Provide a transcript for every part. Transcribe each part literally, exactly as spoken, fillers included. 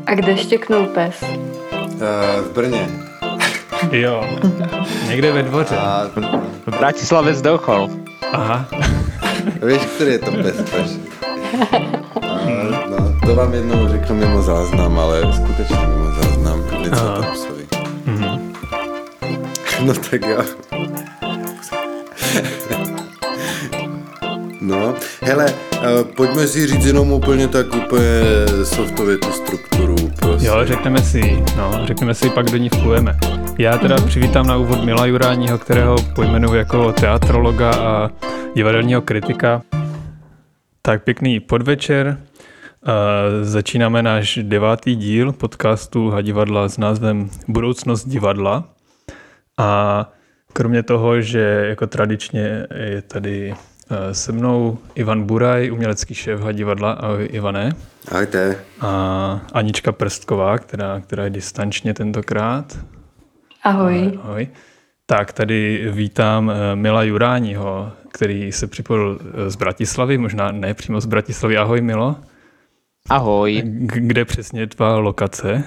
A kde štěknul pes? Uh, v Brně. Jo, někde ve dvoře. A... V Bratislave zdochol. Aha. Víš, který je to pes, peš? No, to vám jednou řeknu mimo záznam, ale skutečně mimo záznam. Něco to psovi. Mm-hmm. No tak jo. No, hele, pojďme si říct jenom úplně tak úplně softově tu strukturu. Prosím. Jo, řekneme si, no, řekneme si, pak do ní vplujeme. Já teda mm-hmm. přivítám na úvod Mila Juráního, kterého pojmenuji jako teatrologa a divadelního kritika. Tak pěkný podvečer. Začínáme náš devátý díl podcastu Hadivadla s názvem Budoucnost divadla. A kromě toho, že jako tradičně je tady se mnou Ivan Buraj, umělecký šéf Hadivadla. Ahoj, Ivane. Ahojte. A Anička Prstková, která, která je distančně tentokrát. Ahoj. Ahoj. Tak tady vítám Mila Juráního, který se připojil z Bratislavy, možná ne přímo z Bratislavy. Ahoj, Milo. Ahoj. Kde přesně tvá lokace?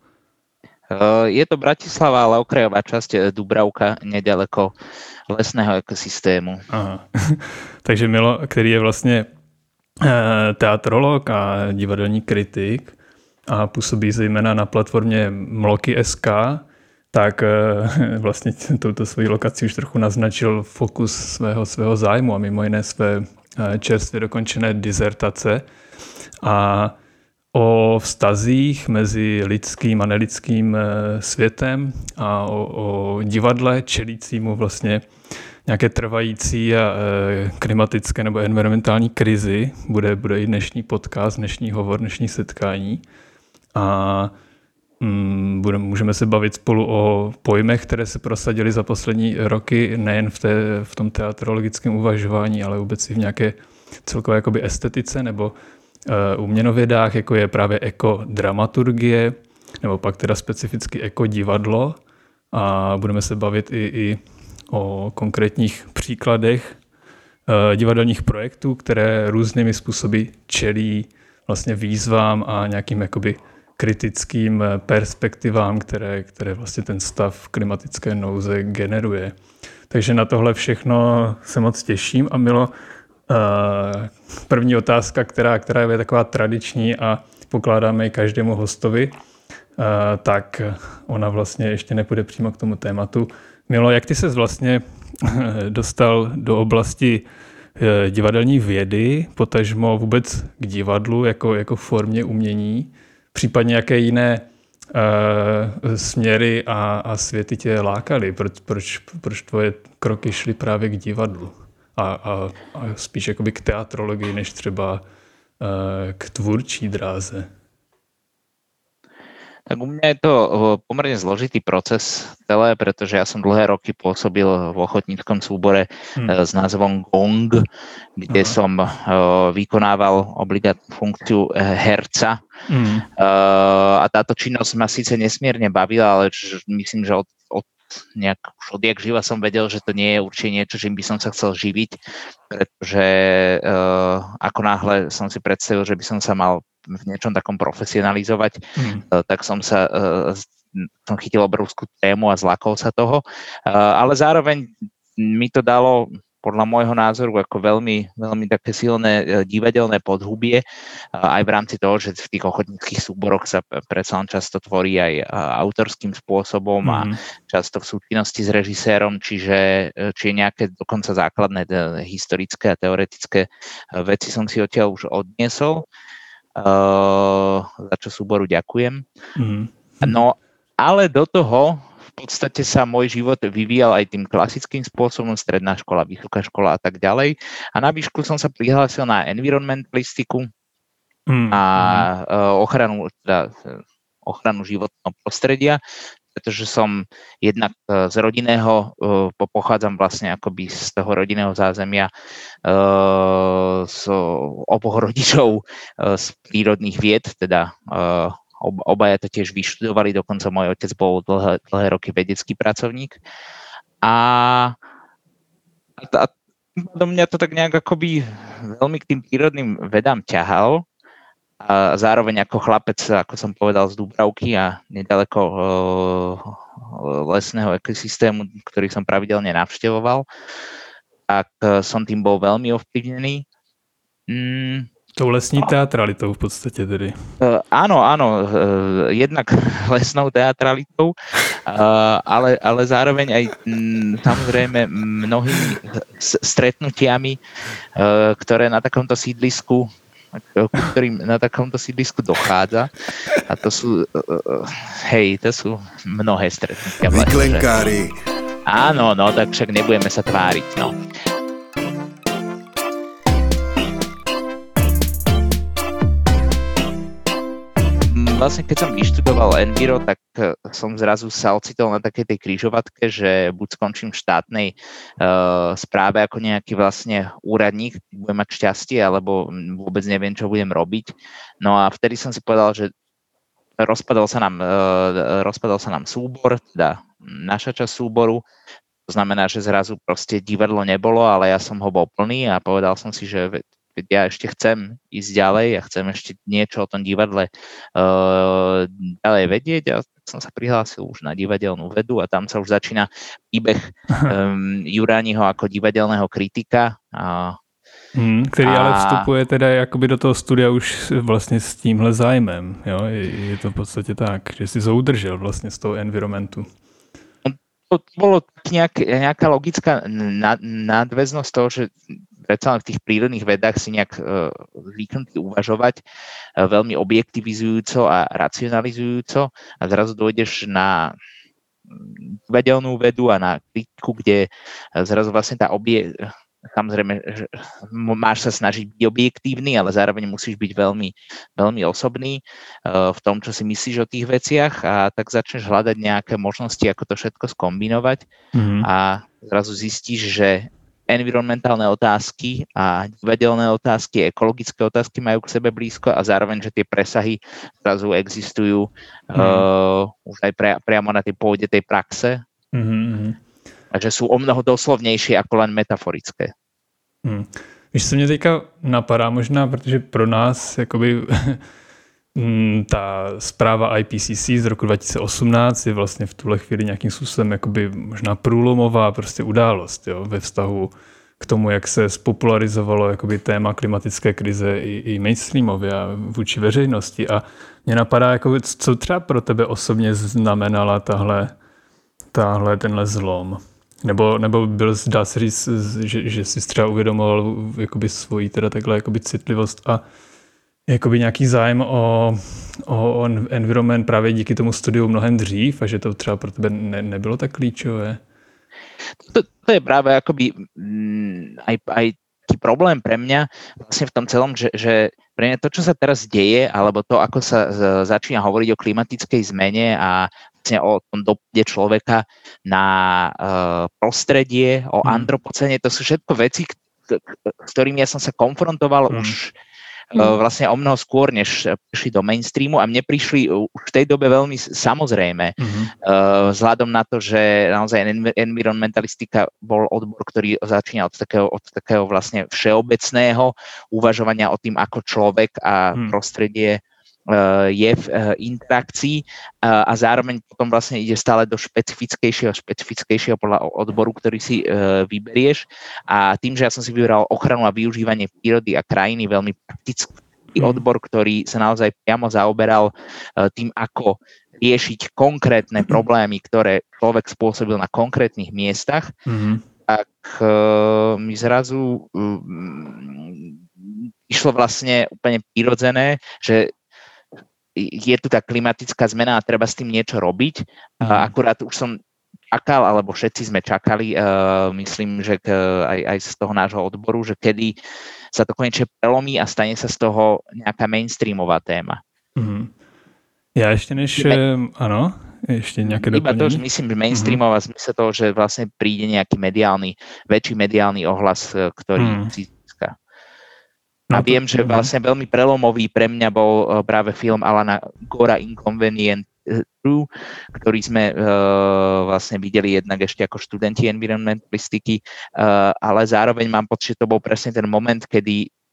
Je to Bratislava, ale okrajová časť Dubravka, nedaleko lesného ekosystému. Aha. Takže Milo, který je vlastně teatrolog a divadelní kritik a působí zejména na platformě Mloky tečka es ká, tak vlastně touto svojí lokací už trochu naznačil fokus svého, svého zájmu a mimo jiné své čerstvě dokončené dizertace a o vztazích mezi lidským a nelidským světem a o, o divadle čelícímu vlastně nějaké trvající a klimatické nebo environmentální krizi. Bude, bude i dnešní podcast, dnešní hovor, dnešní setkání. A mm, bude, můžeme se bavit spolu o pojmech, které se prosadily za poslední roky, nejen v, té, v tom teatrologickém uvažování, ale vůbec i v nějaké celkové jakoby estetice nebo uh, uměnovědách, jako je právě ekodramaturgie, nebo pak teda specificky ekodivadlo. A budeme se bavit i, i o konkrétních příkladech uh, divadelních projektů, které různými způsoby čelí vlastně výzvám a nějakým jakoby kritickým perspektivám, které, které vlastně ten stav klimatické nouze generuje. Takže na tohle všechno se moc těším. A Milo, uh, první otázka, která, která je taková tradiční a pokládáme ji každému hostovi, uh, tak ona vlastně ještě nepůjde přímo k tomu tématu. Milo, jak ty ses vlastně dostal do oblasti divadelní vědy, potažmo vůbec k divadlu jako, jako formě umění, případně jaké jiné uh, směry a, a světy tě lákaly? Proč, proč, proč tvoje kroky šly právě k divadlu a, a, a spíš jakoby k teatrologii, než třeba uh, k tvůrčí dráze? Tak u mňa je to pomerne zložitý proces celé, pretože ja som dlhé roky pôsobil v ochotníckom súbore hmm. s názvom Gong, kde Aha. som uh, vykonával obligátnu funkciu herca. Hmm. Uh, a táto činnosť ma síce nesmierne bavila, ale č- myslím, že od, od nejak už odjak živa som vedel, že to nie je určite niečo, čím by som sa chcel živiť, pretože uh, ako náhle som si predstavil, že by som sa mal v niečom takom profesionalizovať, hmm. tak som sa som chytil obrovskú tému a zlakol sa toho, ale zároveň mi to dalo podľa môjho názoru ako veľmi, veľmi také silné divadelné podhubie, aj v rámci toho, že v tých ochotníckych súboroch sa predsa len často tvorí aj autorským spôsobom hmm. a často v súčinnosti s režisérom, čiže, čiže nejaké dokonca základné historické a teoretické veci som si odtiaľ už odniesol. Uh, za čo súboru ďakujem. Mm. No, ale do toho v podstate sa môj život vyvíjal aj tým klasickým spôsobom, stredná škola, vysoká škola a tak ďalej. A na výšku som sa prihlásil na environmentalistiku mm. a uh, ochranu, teda, ochranu životného prostredia, pretože som jednak z rodinného, pochádzam vlastne akoby z toho rodinného zázemia z oboch rodičov z prírodných vied, teda obaja to tiež vyštudovali, dokonca môj otec bol dlhé, dlhé roky vedecký pracovník. A, a do mňa to tak nejak akoby veľmi k tým prírodným vedám ťahal. a zároveň ako chlapec, ako som povedal, z Dúbravky a nedaleko uh, lesného ekosystému, ktorý som pravidelne navštevoval, tak uh, som tým bol veľmi ovplyvnený. Mm, Tou lesní teatralitou v podstate tedy. Uh, áno, áno, uh, jednak lesnou teatralitou, uh, ale, ale zároveň aj m, samozrejme mnohými stretnutiami, uh, ktoré na takomto sídlisku, ktorým na takomto sídlisku dochádza. A to sú, uh, hej, to sú mnohé stretnutia. Vyklenkári. Áno, no, tak však nebudeme sa tváriť, no. Vlastne keď som vyštudoval Enviro, tak som zrazu sa ocitol na takej tej križovatke, že buď skončím v štátnej uh, správe ako nejaký vlastne úradník, budem mať šťastie, alebo vôbec neviem, čo budem robiť. No a vtedy som si povedal, že rozpadol sa nám, uh, rozpadol sa nám súbor, teda naša časť súboru. To znamená, že zrazu proste divadlo nebolo, ale ja som ho bol plný a povedal som si, že ja ešte chcem ísť ďalej a chcem ešte niečo o tom divadle uh, ďalej vedieť a tak som sa prihlásil už na divadelnú vedu a tam sa už začína príbeh um, Jurániho ako divadelného kritika. A, hmm, ktorý a... ale vstupuje teda jakoby do toho studia už vlastne s tímhle zájmem. Jo? Je, je to v podstate tak, že si to udržel vlastne z toho environmentu. To bolo nejak, nejaká logická nadväznosť toho, že predsa len v tých prírodných vedách si nejak uh, zvyknutý uvažovať uh, veľmi objektivizujúco a racionalizujúco a zrazu dojdeš na divadelnú vedu a na kritiku, kde uh, zrazu vlastne tá obie... Samozrejme, že máš sa snažiť byť objektívny, ale zároveň musíš byť veľmi, veľmi osobný uh, v tom, čo si myslíš o tých veciach a tak začneš hľadať nejaké možnosti, ako to všetko skombinovať mm-hmm. a zrazu zistíš, že environmentálne otázky a divadelné otázky, ekologické otázky majú k sebe blízko a zároveň, že tie presahy zrazu existujú mm. uh, už aj pre, priamo na tej pôde tej praxe mm-hmm. a že sú o mnoho doslovnejšie ako len metaforické. Hmm. Víš, co mě teďka napadá možná, protože pro nás jakoby ta zpráva I P C C z roku dva tisíce osmnáct je vlastně v tuhle chvíli nějakým způsobem jakoby možná průlomová prostě událost, jo, ve vztahu k tomu, jak se spopularizovalo jakoby téma klimatické krize i, i mainstreamově a vůči veřejnosti. A mě napadá, jakoby, co třeba pro tebe osobně znamenala tahle, tahle tenhle zlom? Nebo, nebo byl, dá se říct, že, že jsi třeba uvědomoval jakoby svoji teda takhle jakoby citlivost a jakoby nějaký zájem o, o environment právě díky tomu studiu mnohem dřív a že to třeba pro tebe ne, nebylo tak klíčové? To, to je práve akoby m, aj, aj taký problém pre mňa vlastne v tom celom, že, že pre mňa to, čo sa teraz deje, alebo to, ako sa z, začína hovoriť o klimatickej zmene a vlastne o tom dopade človeka na uh, prostredie, o antropocene, to sú všetko veci, k, k, s ktorými ja som sa konfrontoval mm. už uh, vlastne o mnoho skôr, než prišli do mainstreamu a mne prišli už v tej dobe veľmi samozrejme. Mm-hmm. Uh, vzhľadom na to, že naozaj environmentalistika bol odbor, ktorý začínal od takého, od takého vlastne všeobecného uvažovania o tým, ako človek a mm. prostredie je v interakcii a zároveň potom vlastne ide stále do špecifickejšieho špecifickejšieho podľa odboru, ktorý si vyberieš a tým, že ja som si vybral ochranu a využívanie prírody a krajiny, veľmi praktický odbor, ktorý sa naozaj priamo zaoberal tým, ako riešiť konkrétne problémy, ktoré človek spôsobil na konkrétnych miestach, mm-hmm. tak mi zrazu išlo vlastne úplne prirodzené, že je tu tá klimatická zmena a treba s tým niečo robiť. Mm. Akurát už som čakal, alebo všetci sme čakali, uh, myslím, že k, aj, aj z toho nášho odboru, že kedy sa to konečne prelomí a stane sa z toho nejaká mainstreamová téma. Mm. Ja ešte než... Iba, áno, ešte nejaké doplnenie? Iba to, že myslím, že mainstreamová mm. zmysle toho, že vlastne príde nejaký mediálny, väčší mediálny ohlas, ktorý mm. si získa. A viem, že vlastne veľmi prelomový pre mňa bol práve film Alana Gora Inconvenient True, ktorý sme uh, vlastne videli jednak ešte ako študenti environmentalistiky, uh, ale zároveň mám pocit, že to bol presne ten moment, kedy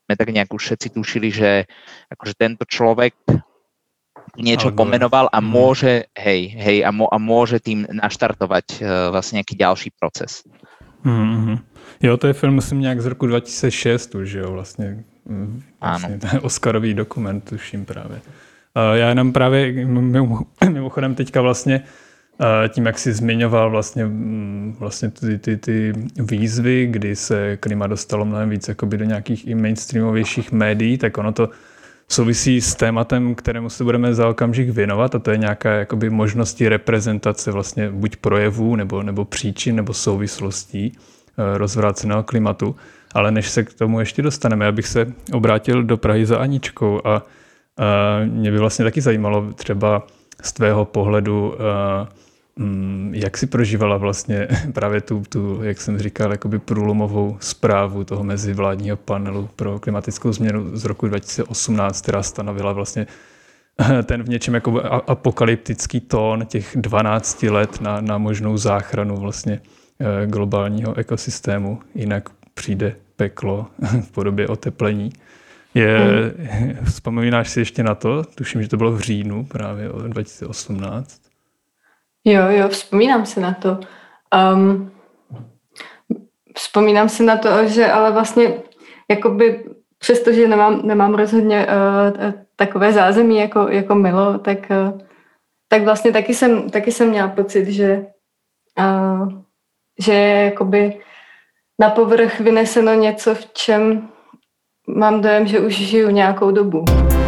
sme tak nejak už všetci tušili, že akože tento človek niečo pomenoval a môže, hej, hej, a, mo, a môže tým naštartovať uh, vlastne nejaký ďalší proces. Mm-hmm. Jo, to je film, myslím, nějak z roku dva tisíce šest už, jo, vlastně, vlastně ten Oscarový dokument, tuším právě. Uh, já jenom právě mimochodem teďka vlastně uh, tím, jak jsi zmiňoval vlastně, vlastně ty, ty, ty výzvy, kdy se klima dostalo mnohem víc jakoby do nějakých i mainstreamovějších médií, tak ono to souvisí s tématem, kterému se budeme za okamžik věnovat, a to je nějaká jakoby možnosti reprezentace vlastně buď projevů, nebo, nebo příčin, nebo souvislostí rozvráceného klimatu. Ale než se k tomu ještě dostaneme, já bych se obrátil do Prahy za Aničkou a, a mě by vlastně taky zajímalo třeba z tvého pohledu, a, m, jak si prožívala vlastně právě tu, tu jak jsem říkal, jakoby průlomovou zprávu toho mezivládního panelu pro klimatickou změnu z roku dva tisíce osmnáct, která stanovila vlastně ten v něčem jako apokalyptický tón těch dvanáct let na, na možnou záchranu vlastně globálního ekosystému, jinak přijde peklo v podobě oteplení. Je, hmm. Vzpomínáš si ještě na to? Tuším, že to bylo v říjnu právě dva tisíce osmnáct. Jo, jo, vzpomínám si na to. Um, vzpomínám si na to, že ale vlastně jakoby přestože nemám, nemám rozhodně uh, takové zázemí jako, jako Milo, tak, uh, tak vlastně taky jsem, taky jsem měla pocit, že uh, že je jakoby na povrch vyneseno něco, v čem mám dojem, že už žiju nějakou dobu.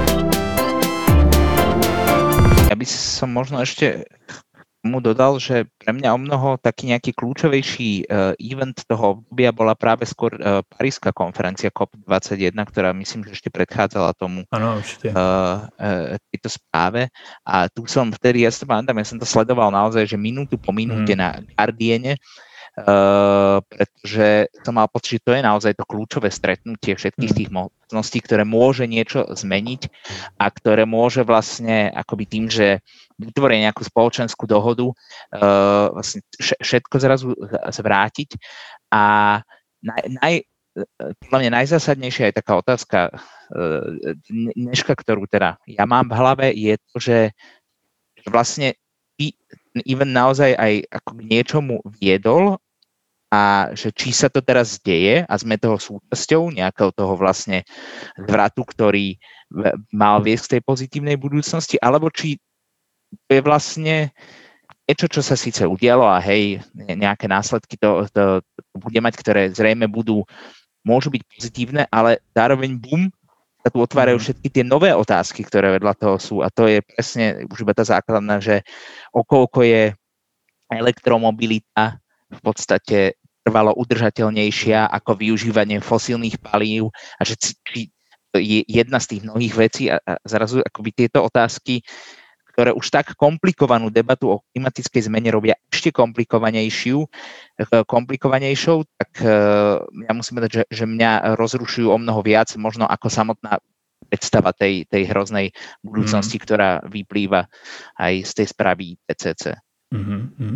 Ja by som možno ešte mu dodal, že pre mňa o mnoho taký nejaký kľúčovejší uh, event toho obdobia bola práve skôr uh, Paríska konferencia C O P dvadsaťjeden, ktorá myslím, že ešte predchádzala tomu ano, určite. Uh, uh, tejto správe. A tu som vtedy, ja si to pamätám, ja som to sledoval naozaj, že minútu po minúte hmm. na Guardiane, Uh, pretože som mal pocit, že to je naozaj to kľúčové stretnutie všetkých tých možností, ktoré môže niečo zmeniť a ktoré môže vlastne akoby tým, že vytvoria nejakú spoločenskú dohodu, uh, vlastne všetko zrazu zvrátiť. A naj, naj, podľa mňa najzásadnejšia je taká otázka uh, dneška, ktorú teda ja mám v hlave, je to, že vlastne even naozaj aj ako k niečomu viedol a že či sa to teraz deje a sme toho súčasťou nejakého toho vlastne zvratu, ktorý mal viesť k tej pozitívnej budúcnosti, alebo či to je vlastne niečo, čo sa síce udialo a hej, nejaké následky to, to, to bude mať, ktoré zrejme budú, môžu byť pozitívne, ale zároveň bum, sa tu otvárajú všetky tie nové otázky, ktoré vedľa toho sú, a to je presne už iba tá základná, že okolko je elektromobilita v podstate trvalo udržateľnejšia ako využívanie fosílnych palív a že je jedna z tých mnohých vecí a, a zrazu akoby tieto otázky, ktoré už tak komplikovanú debatu o klimatickej zmene robia ešte komplikovanejšiu, komplikovanejšou, tak ja musím povedať, že, že mňa rozrušujú o mnoho viac, možno ako samotná predstava tej, tej hroznej budúcnosti, mm. ktorá vyplýva aj z tej správy I P C C. Mm-hmm.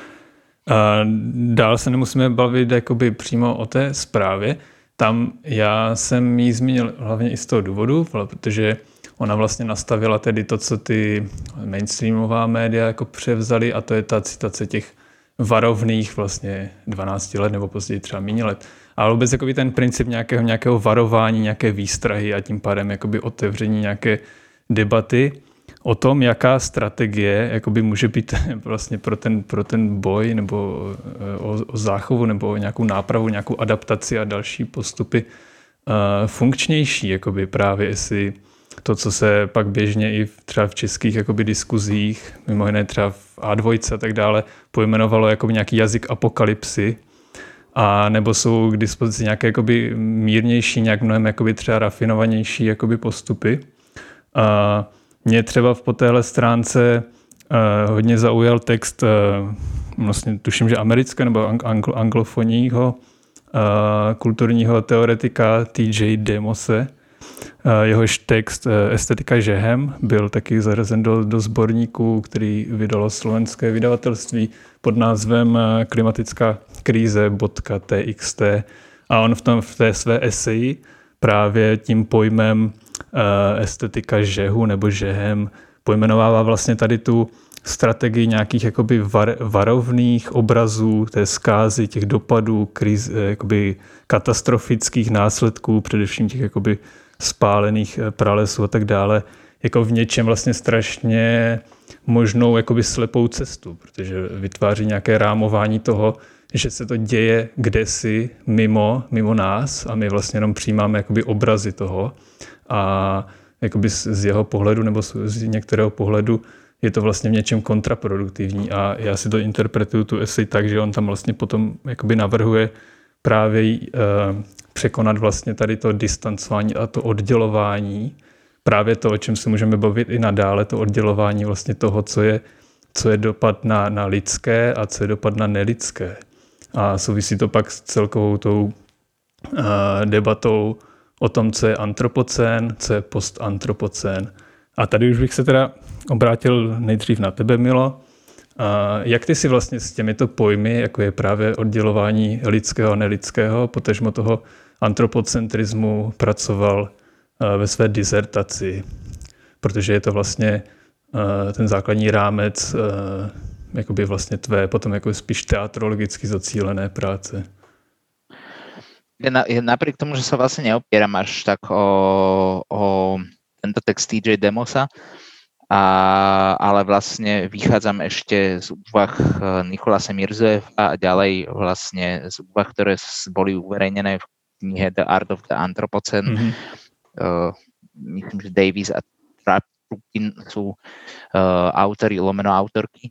A dál se nemusíme bavit jakoby přímo o té zprávě. Tam já jsem ji zmínil hlavně i z toho důvodu, protože ona vlastně nastavila tedy to, co ty mainstreamová média jako převzali, a to je ta citace těch varovných vlastně dvanáct let nebo později třeba méně let. Ale vůbec jakoby ten princip nějakého, nějakého varování, nějaké výstrahy a tím pádem jakoby otevření nějaké debaty o tom, jaká strategie jakoby může být vlastně pro ten, pro ten boj nebo o, o záchovu nebo o nějakou nápravu, nějakou adaptaci a další postupy uh, funkčnější, jakoby právě jestli to, co se pak běžně i v, třeba v českých jakoby diskuzích, mimo jiné třeba v A dva a tak dále, pojmenovalo jako nějaký jazyk apokalypsy, a nebo jsou k dispozici nějaké jakoby mírnější, nějak mnohem jakoby třeba rafinovanější jakoby postupy. A mě třeba po téhle stránce uh, hodně zaujal text, uh, vlastně tuším, že amerického nebo anglo- anglofonního uh, kulturního teoretika T J Demose. Jehož text Estetika žehem byl taky zařazen do, do sborníku, který vydalo slovenské vydavatelství pod názvem Klimatická krize .txt. A on v, tom, v té své eseji právě tím pojmem estetika žehu nebo žehem pojmenovává vlastně tady tu strategii nějakých jakoby var, varovných obrazů, té zkázy, těch dopadů, kriz, jakoby katastrofických následků, především těch jakoby spálených pralesů a tak dále, jako v něčem vlastně strašně možnou jakoby slepou cestu, protože vytváří nějaké rámování toho, že se to děje kdesi mimo, mimo nás a my vlastně jenom přijímáme jakoby obrazy toho a jakoby z jeho pohledu nebo z některého pohledu je to vlastně v něčem kontraproduktivní a já si to interpretuju tu esej tak, že on tam vlastně potom jakoby navrhuje právě uh, překonat vlastně tady to distancování a to oddělování, právě to, o čem se můžeme bavit i nadále, to oddělování vlastně toho, co je, co je dopad na, na lidské a co je dopad na nelidské. A souvisí to pak s celkovou tou uh, debatou o tom, co je antropocén, co je postantropocén. A tady už bych se teda obrátil nejdřív na tebe, Milo. A jak ty si vlastně s těmito pojmy, jako je právě oddělování lidského a nelidského, potažmo toho antropocentrismu, pracoval ve své dizertaci? Protože je to vlastně ten základní rámec jakoby vlastně tvé potom jako spíš teatrologicky zacílené práce. Napriek tomu, že sa vlastne neopieram až tak o, o tento text T J Demosa, a, ale vlastne vychádzam ešte z úvah Nikolasa Mirzojeva a ďalej vlastne z úvah, ktoré boli uverejnené v knihe The Art of the Anthropocene. Mm-hmm. Uh, myslím, že Davies a Trapkin sú uh, autori, lomeno autorky.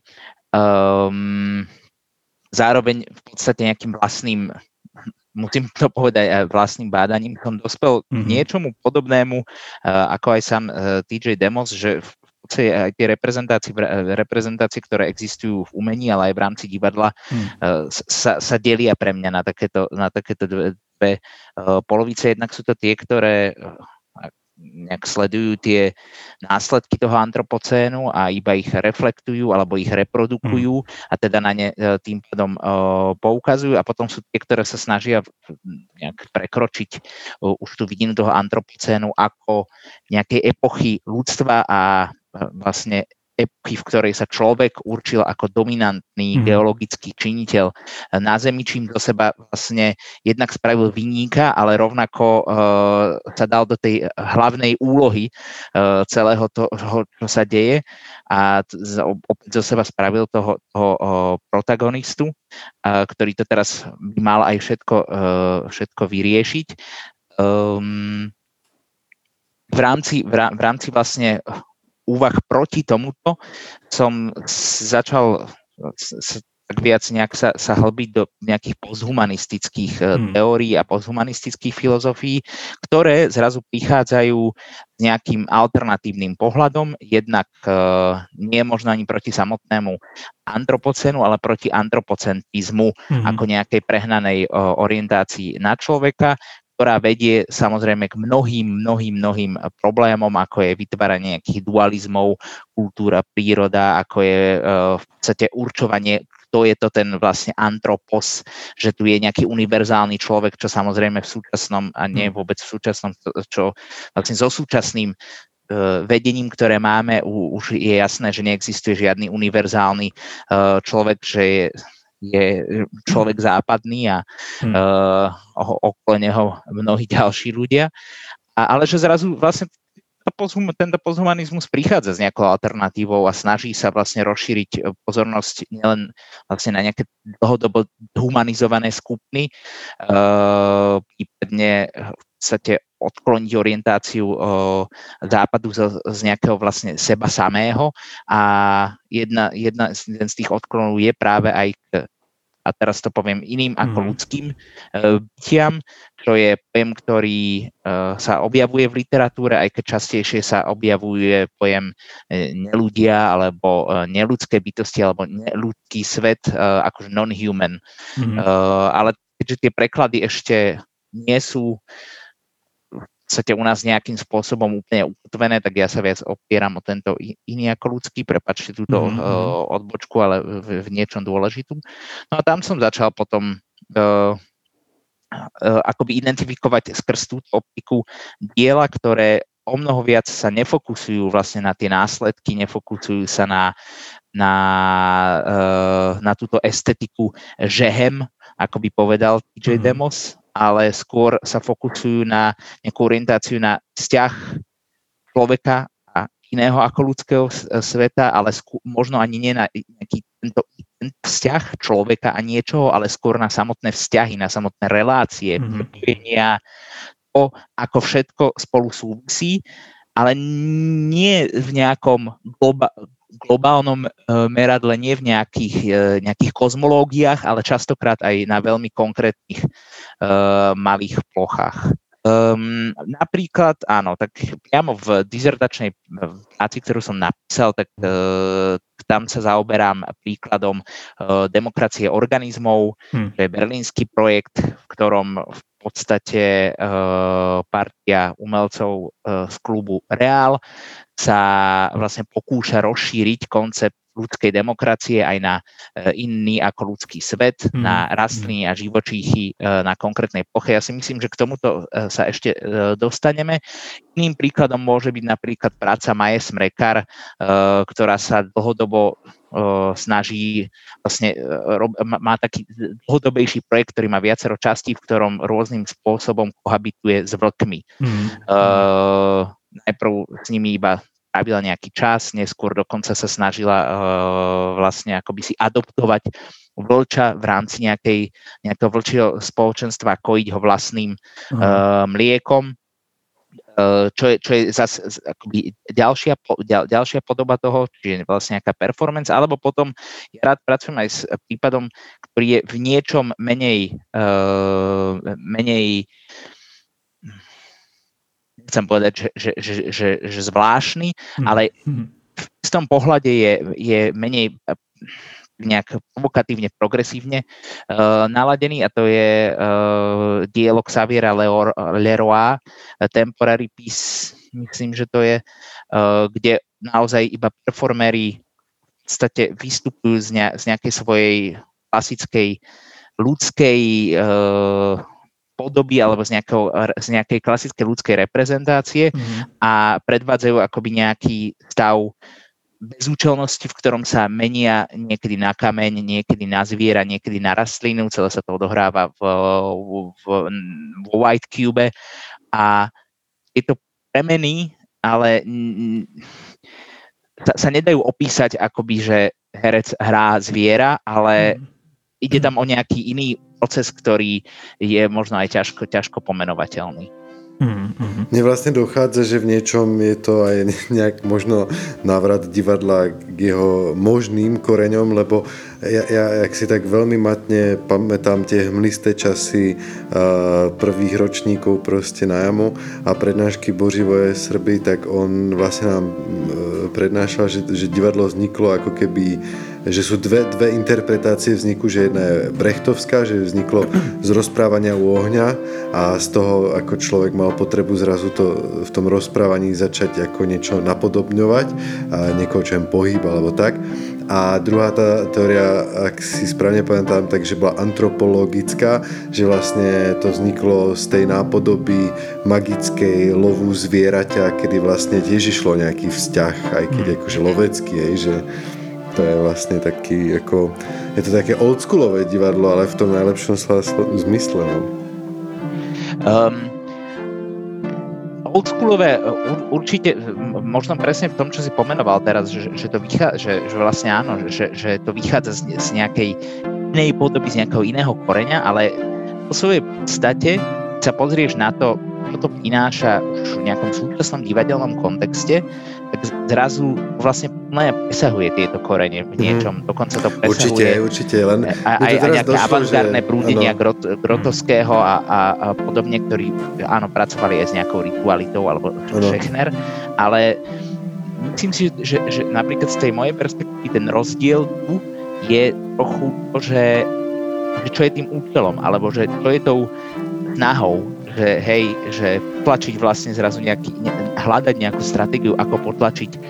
Um, zároveň v podstate nejakým vlastným, musím to povedať, aj vlastným bádaním som dospel mm-hmm. k niečomu podobnému, uh, ako aj sám uh, T J Demos, že v podstate aj tie reprezentácie, reprezentácie, ktoré existujú v umení, ale aj v rámci divadla, mm. uh, sa, sa delia pre mňa na takéto, na takéto dve, dve uh, polovice. Jednak sú to tie, ktoré uh, nejak sledujú tie následky toho antropocénu a iba ich reflektujú alebo ich reprodukujú a teda na ne tým pádom uh, poukazujú a potom sú tie, ktoré sa snažia nejak prekročiť uh, už tú vidinu toho antropocénu ako nejakej epochy ľudstva a uh, vlastne epochy, v ktorej sa človek určil ako dominantný mm. geologický činiteľ na Zemi, čím do seba vlastne jednak spravil viníka, ale rovnako uh, sa dal do tej hlavnej úlohy uh, celého toho, čo sa deje a t- opäť zo seba spravil toho, toho uh, protagonistu, uh, ktorý to teraz by mal aj všetko, uh, všetko vyriešiť. Um, v rámci, v rámci vlastne úvah proti tomuto som začal tak viac nejak sa, sa hlbiť do nejakých posthumanistických hmm. teórií a posthumanistických filozofií, ktoré zrazu prichádzajú s nejakým alternatívnym pohľadom, jednak uh, nie možno ani proti samotnému antropocénu, ale proti antropocentrizmu hmm. ako nejakej prehnanej uh, orientácii na človeka, ktorá vedie samozrejme k mnohým, mnohým, mnohým problémom, ako je vytváranie nejakých dualizmov, kultúra, príroda, ako je uh, v podstate určovanie, kto je to ten vlastne antropos, že tu je nejaký univerzálny človek, čo samozrejme v súčasnom, a nie vôbec v súčasnom, čo vlastne so súčasným uh, vedením, ktoré máme, u, už je jasné, že neexistuje žiadny univerzálny uh, človek, že je je človek západný a hmm. uh, okolo neho mnohí ďalší ľudia. A, ale že zrazu vlastne tento posthumanizmus prichádza s nejakou alternatívou a snaží sa vlastne rozšíriť pozornosť nielen vlastne na nejaké dlhodobo humanizované skupiny, uh, prípadne v podstate odkloniť orientáciu uh, západu z, z nejakého vlastne seba samého a jedna, jedna, jeden z tých odklonov je práve aj k, a teraz to poviem iným ako mm. ľudským uh, bytiam, čo je pojem, ktorý uh, sa objavuje v literatúre, aj keď častejšie sa objavuje pojem uh, neľudia alebo uh, neľudské bytosti alebo neľudský svet uh, akože non-human. Mm. Uh, ale keďže tie preklady ešte nie sú v podstate u nás nejakým spôsobom úplne ukotvené, tak ja sa viac opieram o tento iný ako ľudský, prepáčte túto mm-hmm. uh, odbočku, ale v, v niečom dôležitú. No a tam som začal potom uh, akoby identifikovať skrz túto optiku diela, ktoré o mnoho viac sa nefokusujú vlastne na tie následky, nefokusujú sa na, na, na túto estetiku žehem, ako by povedal T J Demos, ale skôr sa fokusujú na nejakú orientáciu na vzťah človeka a iného ako ľudského sveta, ale skôr, možno ani nie na nejaký tento vzťah človeka a niečoho, ale skôr na samotné vzťahy, na samotné relácie, prepojenia, to, ako všetko spolu súvisí, ale nie v nejakom globa, globálnom meradle, nie v nejakých, nejakých kozmológiách, ale častokrát aj na veľmi konkrétnych uh, malých plochách. Um, napríklad, áno, tak priamo v dizertačnej práci, ktorú som napísal, tak uh, tam sa zaoberám príkladom uh, demokracie organizmov, hmm. to je berlínsky projekt, v ktorom v podstate uh, partia umelcov uh, z klubu Real sa vlastne pokúša rozšíriť koncept ľudskej demokracie aj na uh, iný ako ľudský svet, mm. na rastliny a živočíchy uh, na konkrétnej ploche. Ja si myslím, že k tomuto uh, sa ešte uh, dostaneme. Iným príkladom môže byť napríklad práca Maje Smrekar, uh, ktorá sa dlhodobo uh, snaží, vlastne uh, rob, má taký dlhodobejší projekt, ktorý má viacero častí, v ktorom rôznym spôsobom kohabituje s vlkmi. Mm. Uh, najprv s nimi iba trávila nejaký čas, neskôr dokonca sa snažila uh, vlastne akoby si adoptovať vlča v rámci nejakej, nejakého vlčieho spoločenstva, kojiť ho vlastným uh, mliekom, uh, čo je, čo je zase akoby ďalšia, ďal, ďalšia podoba toho, čiže vlastne nejaká performance, alebo potom ja rád pracujem aj s prípadom, ktorý je v niečom menej uh, menej chcem povedať, že, že, že, že, že zvláštny, ale v tom pohľade je, je menej nejak provokatívne, progresívne uh, naladený a to je uh, dielo Xaviera Leroy, Temporary Peace, myslím, že to je, uh, kde naozaj iba performéri v podstate vystupujú z, ne, z nejakej svojej klasickej ľudskej uh, podoby alebo z, nejakého, z nejakej klasickej ľudskej reprezentácie mm. a predvádzajú akoby nejaký stav bezúčelnosti, v ktorom sa menia niekedy na kameň, niekedy na zviera, niekedy na rastlinu, celé sa to odohráva v, v, v White Cube a tieto premeny, ale sa, sa nedajú opísať akoby, že herec hrá zviera, ale mm. ide tam o nejaký iný proces, ktorý je možno aj ťažko, ťažko pomenovateľný. Mm-hmm. Mne vlastne dochádza, že v niečom je to aj nejak možno návrat divadla k jeho možným koreňom, lebo ja, ja jak si tak veľmi matne pamätám tie hmlisté časy uh, prvých ročníkov proste na jamu a prednášky Boživoje Srby, tak on vlastne nám uh, prednášal, že, že divadlo vzniklo ako keby že sú dve, dve interpretácie vzniku, že jedna je brechtovská, že vzniklo z rozprávania u ohňa a z toho, ako človek mal potrebu zrazu to v tom rozprávaní začať ako niečo napodobňovať a niekoho, čo je pohyb alebo tak. A druhá tá teória, ak si správne pamätám, takže bola antropologická, že vlastne to vzniklo z tej nápodoby magickej lovu zvieraťa, kedy vlastne tiež išlo nejaký vzťah, aj keď akože lovecký, hej, že to je vlastne taký, ako, je to také oldschoolové divadlo, ale v tom najlepšom zmysle. No. Um, oldschoolové určite, možno presne v tom, čo si pomenoval teraz, že, že to vychádza, že, že vlastne áno, že, že to vychádza z, z nejakej inej podoby, z nejakého iného koreňa, ale po svojej podstate sa pozrieš na to, čo to prináša už v nejakom súčasnom divadelnom kontexte, tak zrazu vlastne presahuje tieto korene v niečom, mm. dokonca to presahuje. Určite, určite, len a, aj, aj nejaké avantgardné prúdenia grot, grotovského a, a, a podobne, ktorí áno, pracovali aj s nejakou ritualitou alebo Schechner, ale myslím si, že, že napríklad z tej mojej perspektívy ten rozdiel tu je trochu to, že, že čo je tým účelom, alebo že čo je tou snahou, že hej, že potlačiť vlastne zrazu nejaký, ne, hľadať nejakú stratégiu, ako potlačiť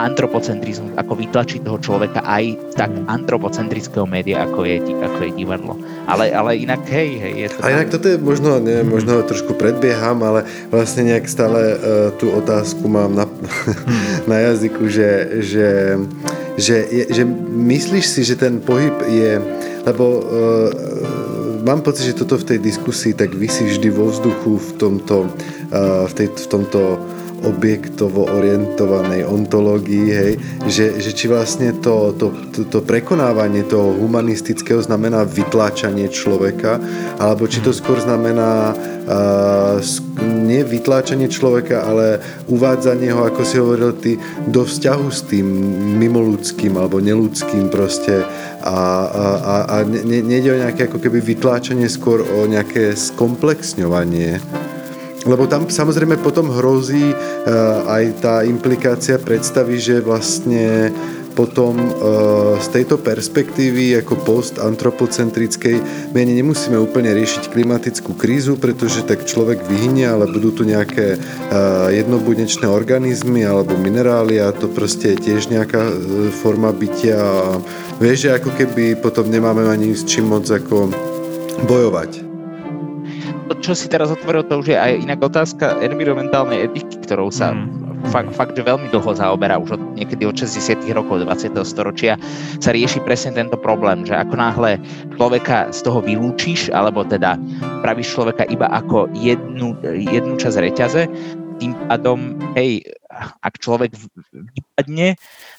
antropocentrizmus, ako vytlačiť toho človeka aj tak antropocentrického média, ako je, ako je divadlo. Ale, ale inak, hej, hej. Je to a inak toto je možno, neviem, možno trošku predbieham, ale vlastne nejak stále uh, tú otázku mám na, na jazyku, že, že, že, je, že myslíš si, že ten pohyb je, lebo uh, mám pocit, že toto v tej diskusii tak visí vždy vo vzduchu v tomto, uh, v, tej, v tomto objektovo orientovanej ontológii, hej, že, že či vlastne to, to, to, to prekonávanie toho humanistického znamená vytláčanie človeka, alebo či to skôr znamená uh, nie vytláčanie človeka, ale uvádzanie ho, ako si hovoril ty, do vzťahu s tým mimoludským alebo neludským proste a, a, a, a ne, nejde o nejaké ako keby vytláčanie, skôr o nejaké skomplexňovanie. Lebo tam samozrejme potom hrozí uh, aj tá implikácia predstavy, že vlastne potom uh, z tejto perspektívy ako post-antropocentrickej my ani nemusíme úplne riešiť klimatickú krízu, pretože tak človek vyhynie, ale budú tu nejaké uh, jednobudnečné organizmy alebo minerály a to proste je tiež nejaká uh, forma bytia a vieš, že ako keby potom nemáme ani s čím moc ako bojovať. Čo si teraz otvoril, to už je aj inak otázka environmentálnej etiky, ktorou sa mm. fakt, fakt, že veľmi dlho zaoberá, už od niekedy od šesťdesiatych rokov dvadsiateho storočia sa rieši presne tento problém, že ako náhle človeka z toho vylúčiš, alebo teda pravíš človeka iba ako jednu, jednu časť reťaze, tým pádom, hej, ak človek vypadne,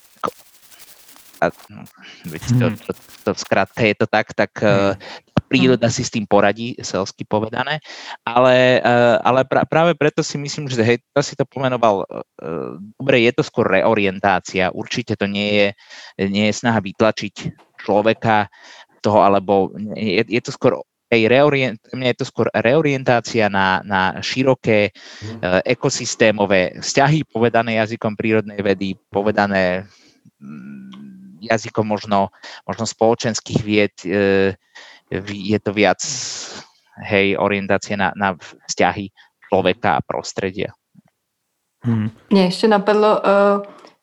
a, no, to, to, to v skratke je to tak, tak uh, príroda si s tým poradí, selsky povedané, ale, uh, ale pra, práve preto si myslím, že hej, to si to pomenoval, uh, dobre, je to skôr reorientácia, určite to nie je, nie je snaha vytlačiť človeka toho, alebo je, je to skôr hej, reorient, mňa je to skôr reorientácia na, na široké uh, ekosystémové vzťahy, povedané jazykom prírodnej vedy, povedané mm, jazykom možno, možno spoločenských vied, e, je to viac hej, orientácie na, na vzťahy človeka a prostredia. Hmm. Mně ještě napadlo uh,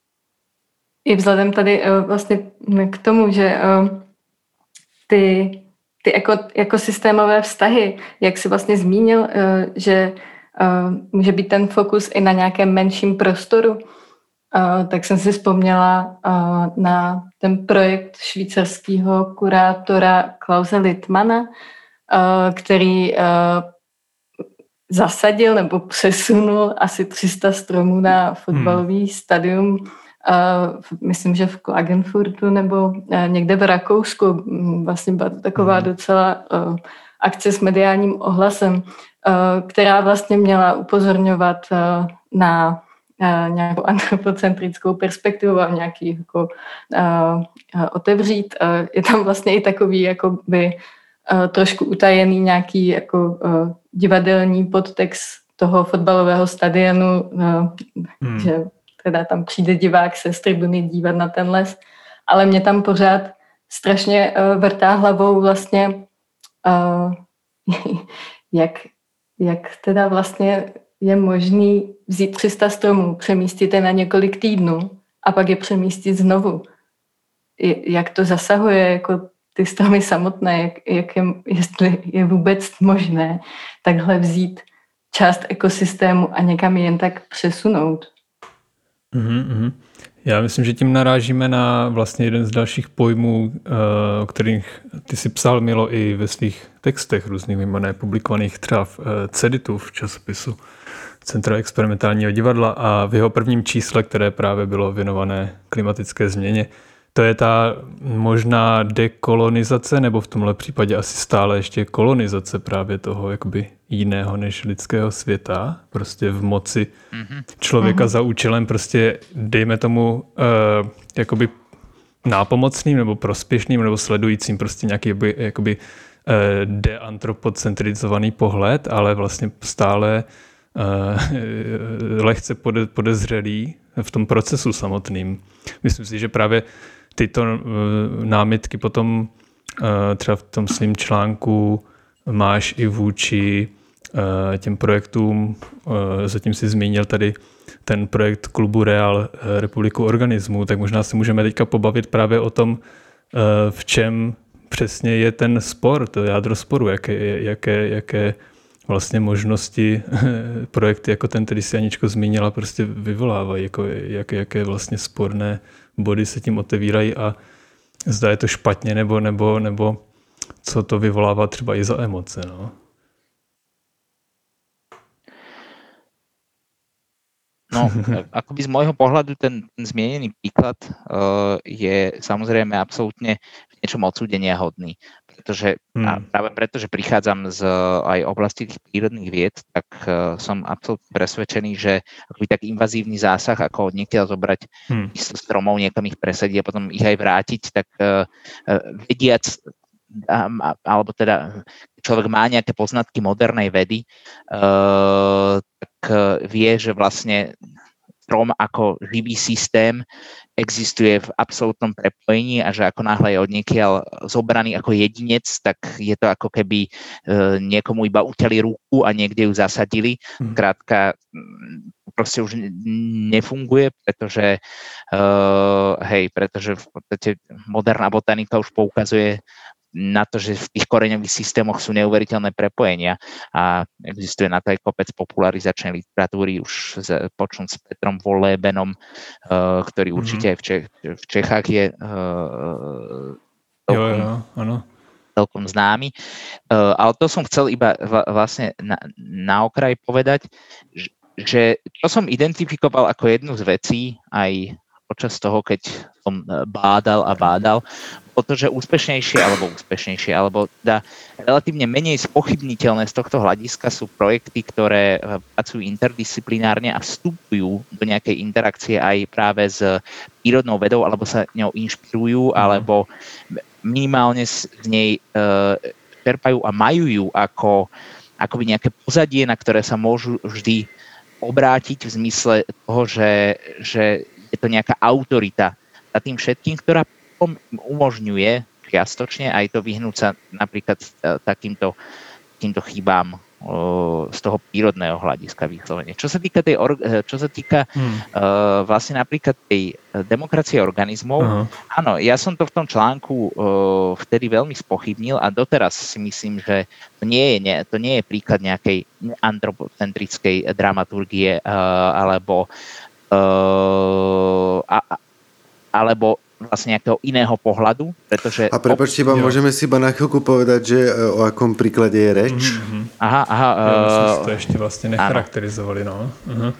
i vzhledem tady uh, vlastně k tomu, že uh, ty, ty eko, ekosystémové vztahy, jak jsi vlastně zmínil, uh, že uh, může být ten fokus i na nějakém menším prostoru, Uh, tak jsem si vzpomněla uh, na ten projekt švýcarského kurátora Klause Littmana, uh, který uh, zasadil nebo přesunul asi tři sta stromů na fotbalový hmm. stadium, uh, myslím, že v Klagenfurtu nebo uh, někde v Rakousku. Vlastně byla to taková hmm. docela uh, akce s mediálním ohlasem, uh, která vlastně měla upozorňovat uh, na nějakou antropocentrickou perspektivu a nějaký jako, uh, otevřít. Uh, je tam vlastně i takový jakoby, uh, trošku utajený nějaký jako, uh, divadelní podtext toho fotbalového stadionu, uh, hmm. že teda tam přijde divák se z tribuny dívat na ten les, ale mě tam pořád strašně uh, vrtá hlavou vlastně uh, jak, jak teda vlastně je možný vzít tři sta stromů, přemístit je na několik týdnů a pak je přemístit znovu. Jak to zasahuje jako ty stromy samotné, jak, jak je, jestli je vůbec možné takhle vzít část ekosystému a někam jen tak přesunout. Mm-hmm. Já myslím, že tím narážíme na vlastně jeden z dalších pojmů, o kterých ty si psal, Milo, i ve svých textech různých mimo ne publikovaných třeba v Ceditu, v časopisu Centra experimentálního divadla, a v jeho prvním čísle, které právě bylo věnované klimatické změně, to je ta možná dekolonizace, nebo v tomhle případě asi stále ještě kolonizace právě toho jakoby jiného než lidského světa, prostě v moci člověka mm-hmm. za účelem prostě, dejme tomu, uh, jakoby nápomocným nebo prospěšným nebo sledujícím prostě nějaký jakoby, jakoby uh, deantropocentrizovaný pohled, ale vlastně stále uh, lehce pode, podezřelý v tom procesu samotným. Myslím si, že právě tyto uh, námitky potom uh, třeba v tom svým článku máš i vůči těm projektům. Zatím si zmínil tady ten projekt klubu Real Republiku organismů, tak možná si můžeme teďka pobavit právě o tom, v čem přesně je ten spor, to jádro sporu, jaké, jaké, jaké vlastně možnosti projekty jako ten, který si Aničko zmínila, prostě vyvolávají, jako jaké, jaké vlastně sporné body se tím otevírají a zda je to špatně, nebo, nebo, nebo co to vyvolává třeba i za emoce. No. No, akoby z môjho pohľadu ten, ten zmienený príklad uh, je samozrejme absolútne v niečom odsúdenia hodný, pretože hmm. a práve preto, že prichádzam z aj oblasti tých prírodných vied, tak uh, som absolútne presvedčený, že akoby tak invazívny zásah, ako od niekiaľ zobrať hmm. stromov, niekam ich presadiť a potom ich aj vrátiť, tak uh, uh, vediac alebo teda človek má nejaké poznatky modernej vedy, uh, tak vie, že vlastne strom ako živý systém existuje v absolútnom prepojení a že ako náhle je odniekiaľ zobraný ako jedinec, tak je to ako keby uh, niekomu iba utiali ruku a niekde ju zasadili. Mm. Krátka, proste už nefunguje, pretože uh, hej, pretože v podstate moderná botanika už poukazuje na to, že v tých koreňových systémoch sú neuveriteľné prepojenia a existuje na to aj kopec popularizačnej literatúry už počnúť s Petrom Wohlebenom, uh, ktorý určite mm-hmm. aj v, Čech, v Čechách je uh, celkom, jo, jo, ano. celkom známy. Uh, ale to som chcel iba v, vlastne na, na okraj povedať, že, že to som identifikoval ako jednu z vecí aj počas toho, keď som bádal a bádal, pretože úspešnejšie alebo úspešnejšie, alebo teda relatívne menej spochybniteľné z tohto hľadiska sú projekty, ktoré pracujú interdisciplinárne a vstupujú do nejakej interakcie aj práve s prírodnou vedou, alebo sa ňou inšpirujú, alebo minimálne z nej uh, čerpajú a majú ju ako akoby nejaké pozadie, na ktoré sa môžu vždy obrátiť v zmysle toho, že, že je to nejaká autorita za tým všetkým, ktorá umožňuje čiastočne aj to vyhnúť sa napríklad takýmto, takýmto chybám z toho prírodného hľadiska vyslovene. Čo sa týka tej, čo sa týka hmm. uh, vlastne napríklad tej demokracie organizmov, uh-huh. áno, ja som to v tom článku uh, vtedy veľmi spochybnil a doteraz si myslím, že to nie je, nie, to nie je príklad nejakej antropocentrickej dramaturgie uh, alebo Uh, a, alebo vlastne nejakého iného pohľadu, pretože... A prepáčte, iba môžeme si iba na chvíľku povedať, že o akom príklade je reč? Mm-hmm. Aha, aha. Ja myslím, že to ešte vlastne necharakterizovali, no. Uh-huh.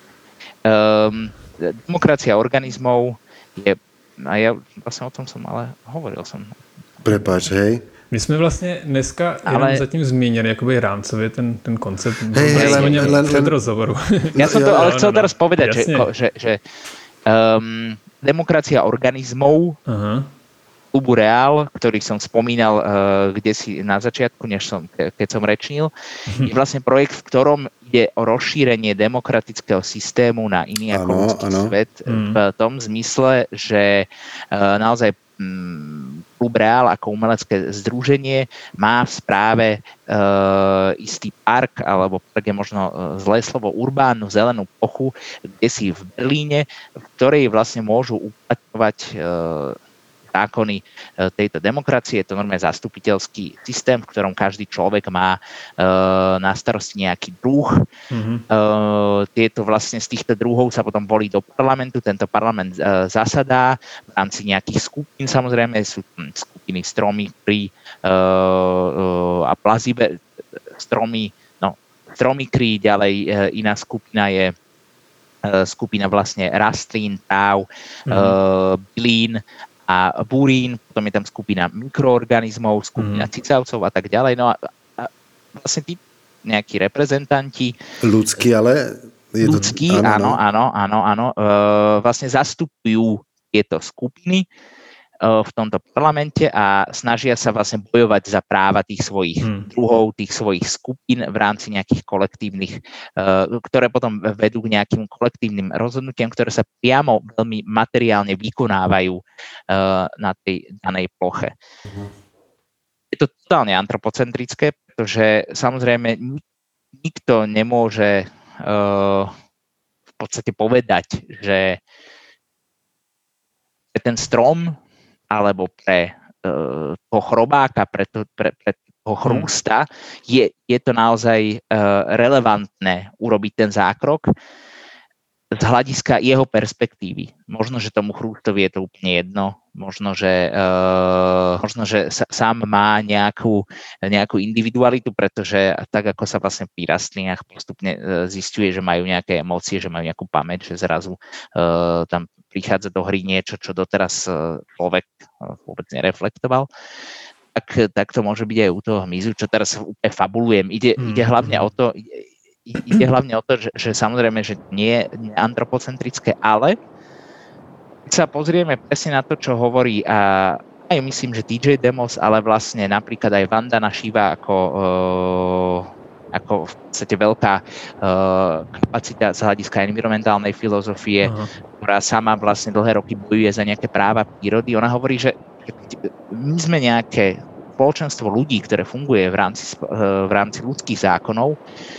Um, demokracia organizmov je... A ja vlastne o tom som ale hovoril som. Prepáč, hej. My jsme vlastně dneska ale... jenom zatím zmínili jakoby rámcově ten, ten koncept hey, hey, len, len, před rozhovoru. Ja som to ale chcel teraz povedať, že, že, že um, demokracia organizmov uh-huh. klubu Real, ktorý som spomínal uh, kde si na začiatku, než som, keď som rečnil, uh-huh. je vlastne projekt, v ktorom ide o rozšírenie demokratického systému na iný ako ľudský svet uh-huh. v tom zmysle, že uh, naozaj um, klub Real ako umelecké združenie má v správe e, istý park, alebo tak je možno zlé slovo, urbánnu zelenú plochu, kde si v Berlíne, v ktorej vlastne môžu uplatňovať e, zákony tejto demokracie. Je to normálne zastupiteľský systém, v ktorom každý človek má e, na starosti nejaký druh. Mm-hmm. E, tieto vlastne z týchto druhov sa potom volí do parlamentu. Tento parlament e, zasadá v rámci nejakých skupín. Samozrejme sú skupiny stromy, kry e, e, a plazibe stromy, no, stromy kry, ďalej e, iná skupina je e, skupina vlastne rastlín, tráv, mm-hmm. e, bylín a burín, potom je tam skupina mikroorganizmov, skupina mm. cicavcov a tak ďalej. No a, a vlastne tí nejakí reprezentanti... Ľudskí, ale... Je ľudskí, to... áno, áno, áno, áno. E, vlastne zastupujú tieto skupiny e, v tomto parlamente a snažia sa vlastne bojovať za práva tých svojich hmm. druhov, tých svojich skupín v rámci nejakých kolektívnych, uh, ktoré potom vedú k nejakým kolektívnym rozhodnutiam, ktoré sa priamo veľmi materiálne vykonávajú uh, na tej danej ploche. Hmm. Je to totálne antropocentrické, pretože samozrejme nikto nemôže uh, v podstate povedať, že pre ten strom alebo pre uh, toho chrobáka, pre, to, pre, pre toho chrústa je, je to naozaj uh, relevantné urobiť ten zákrok z hľadiska jeho perspektívy. Možno, že tomu chrústovi je to úplne jedno, možno, že, uh, možno, že sa, sám má nejakú, nejakú individualitu, pretože tak, ako sa vlastne pri rastlinách postupne uh, zisťuje, že majú nejaké emócie, že majú nejakú pamäť, že zrazu uh, tam prichádza do hry niečo, čo doteraz uh, človek uh, vôbec nereflektoval. Tak, tak to môže byť aj u toho hmyzu, čo teraz úplne fabulujem. Ide, mm. ide hlavne o to, ide hlavne o to, že, že samozrejme, že nie je antropocentrické, ale keď sa pozrieme presne na to, čo hovorí a aj myslím, že dý džej Demos, ale vlastne napríklad aj Vandana Shiva ako, uh, ako v podstate veľká uh, kapacita z hľadiska environmentálnej filozofie, uh-huh. ktorá sama vlastne dlhé roky bojuje za nejaké práva prírody. Ona hovorí, že my sme nejaké spoločenstvo ľudí, ktoré funguje v rámci, v rámci ľudských zákonov.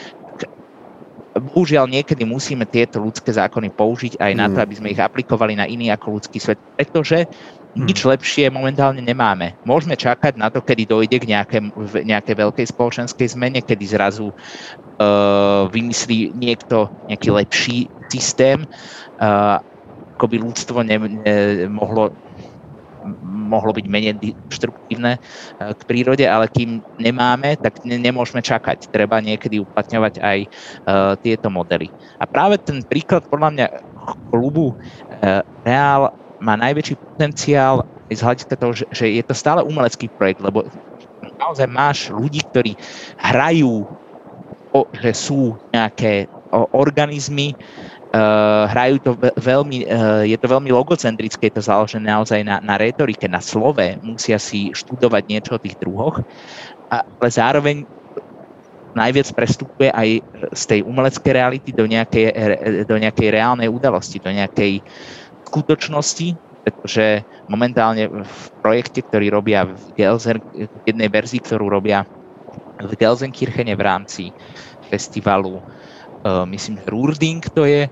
Bohužiaľ niekedy musíme tieto ľudské zákony použiť aj na to, aby sme ich aplikovali na iný ako ľudský svet, pretože nič lepšie momentálne nemáme. Môžeme čakať na to, kedy dojde k nejaké, nejakej veľkej spoločenskej zmene, kedy zrazu uh, vymyslí niekto nejaký lepší systém, uh, ako by ľudstvo ne, ne, mohlo mohlo byť menej deštruktívne k prírode, ale kým nemáme, tak ne, nemôžeme čakať. Treba niekedy uplatňovať aj uh, tieto modely. A práve ten príklad podľa mňa klubu uh, Reál má najväčší potenciál z hľadiska toho, že, že je to stále umelecký projekt, lebo naozaj máš ľudí, ktorí hrajú, o, že sú nejaké o, organizmy, Uh, hrajú to veľmi, uh, je to veľmi logocentrické, je to založené naozaj na, na retorike, na slove, musia si študovať niečo o tých druhoch, a, ale zároveň najviac prestupuje aj z tej umeleckej reality do nejakej, do nejakej reálnej udalosti, do nejakej skutočnosti, pretože momentálne v projekte, ktorý robia v Gelsen, v jednej verzii, ktorú robia v Gelsenkirchene v rámci festivalu, Uh, myslím, Rurding to je,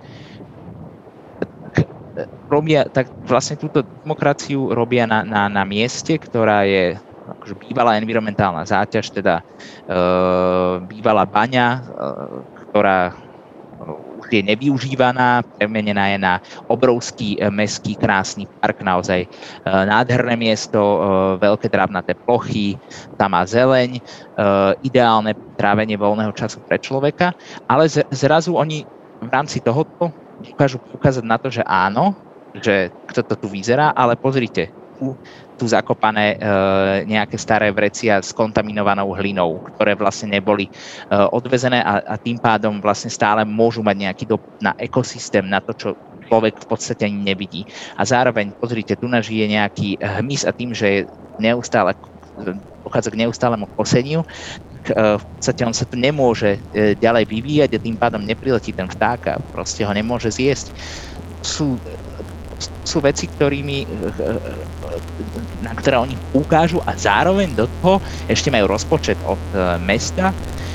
tak, robia, tak vlastne túto demokraciu robia na, na, na mieste, ktorá je akože bývalá environmentálna záťaž, teda uh, bývalá baňa, uh, ktorá už je nevyužívaná, premenená je na obrovský mestský krásny park, naozaj uh, nádherné miesto, uh, veľké trávnaté plochy, tam má zeleň, uh, ideálne trávenie voľného času pre človeka, ale z, zrazu oni v rámci tohoto dokážu ukázať na to, že áno, že kto to tu vyzerá, ale pozrite, tu, tu zakopané e, nejaké staré vrecia s kontaminovanou hlinou, ktoré vlastne neboli e, odvezené a, a tým pádom vlastne stále môžu mať nejaký dopad na ekosystém, na to, čo človek v podstate ani nevidí. A zároveň, pozrite, tu žije nejaký hmyz a tým, že je neustále, dochádza k neustálemu koseniu, tak e, v podstate on sa tu nemôže e, ďalej vyvíjať a tým pádom nepriletí ten vták a proste ho nemôže zjesť. Sú sú veci, ktorými, na ktoré oni ukážu a zároveň do toho ešte majú rozpočet od mesta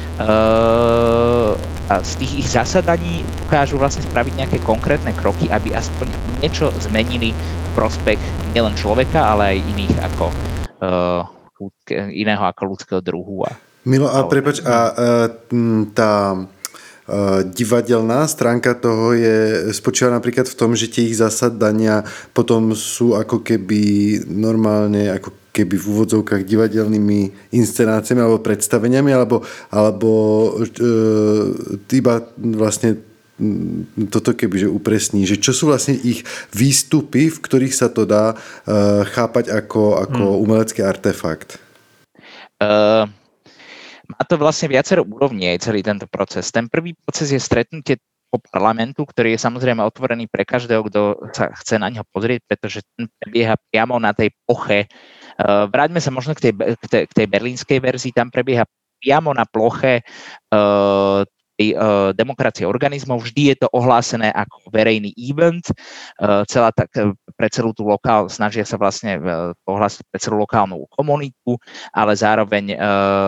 a z tých ich zasadaní ukážu vlastne spraviť nejaké konkrétne kroky, aby aspoň niečo zmenili v prospech nielen človeka, ale aj iných ako iného ako ľudského druhu. Milo, a prepáč, a tá divadelná stránka toho je, spočíva napríklad v tom, že tie ich zasadania potom sú ako keby normálne, ako keby v úvodzovkách divadelnými inscenáciami alebo predstaveniami, alebo, alebo e, iba vlastne toto kebyže upresní, že čo sú vlastne ich výstupy, v ktorých sa to dá e, chápať ako, ako hmm. umelecký artefakt? Uh... Má to vlastne viacero úrovní aj celý tento proces. Ten prvý proces je stretnutie po parlamentu, ktorý je samozrejme otvorený pre každého, kto sa chce na neho pozrieť, pretože ten prebieha priamo na tej ploche. Vráťme sa možno k tej, k tej, k tej berlínskej verzii, tam prebieha priamo na ploche tej uh, demokracie organizmov. Vždy je to ohlásené ako verejný event. Uh, celá tak, pre celú tú lokál, snažia sa vlastne uh, ohlásiť pre celú lokálnu komunitu, ale zároveň,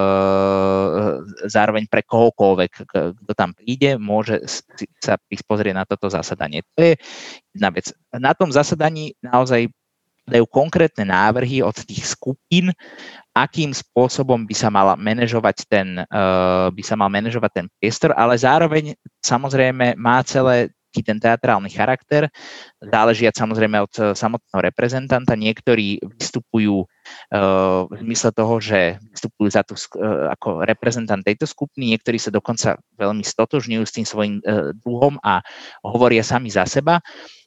uh, zároveň pre kohokoľvek, kto tam príde, môže sa prísť pozrieť na toto zasadanie. To je jedna vec. Na tom zasadaní naozaj dajú konkrétne návrhy od tých skupín, akým spôsobom by sa mal manažovať ten, uh, by sa mal manažovať ten priestor, ale zároveň samozrejme má celé ten teatrálny charakter, záležiať samozrejme od samotného reprezentanta. Niektorí vystupujú uh, v zmysle toho, že vystupujú za tú, uh, ako reprezentant tejto skupiny, niektorí sa dokonca veľmi stotožňujú s tým svojím uh, druhom a hovoria sami za seba.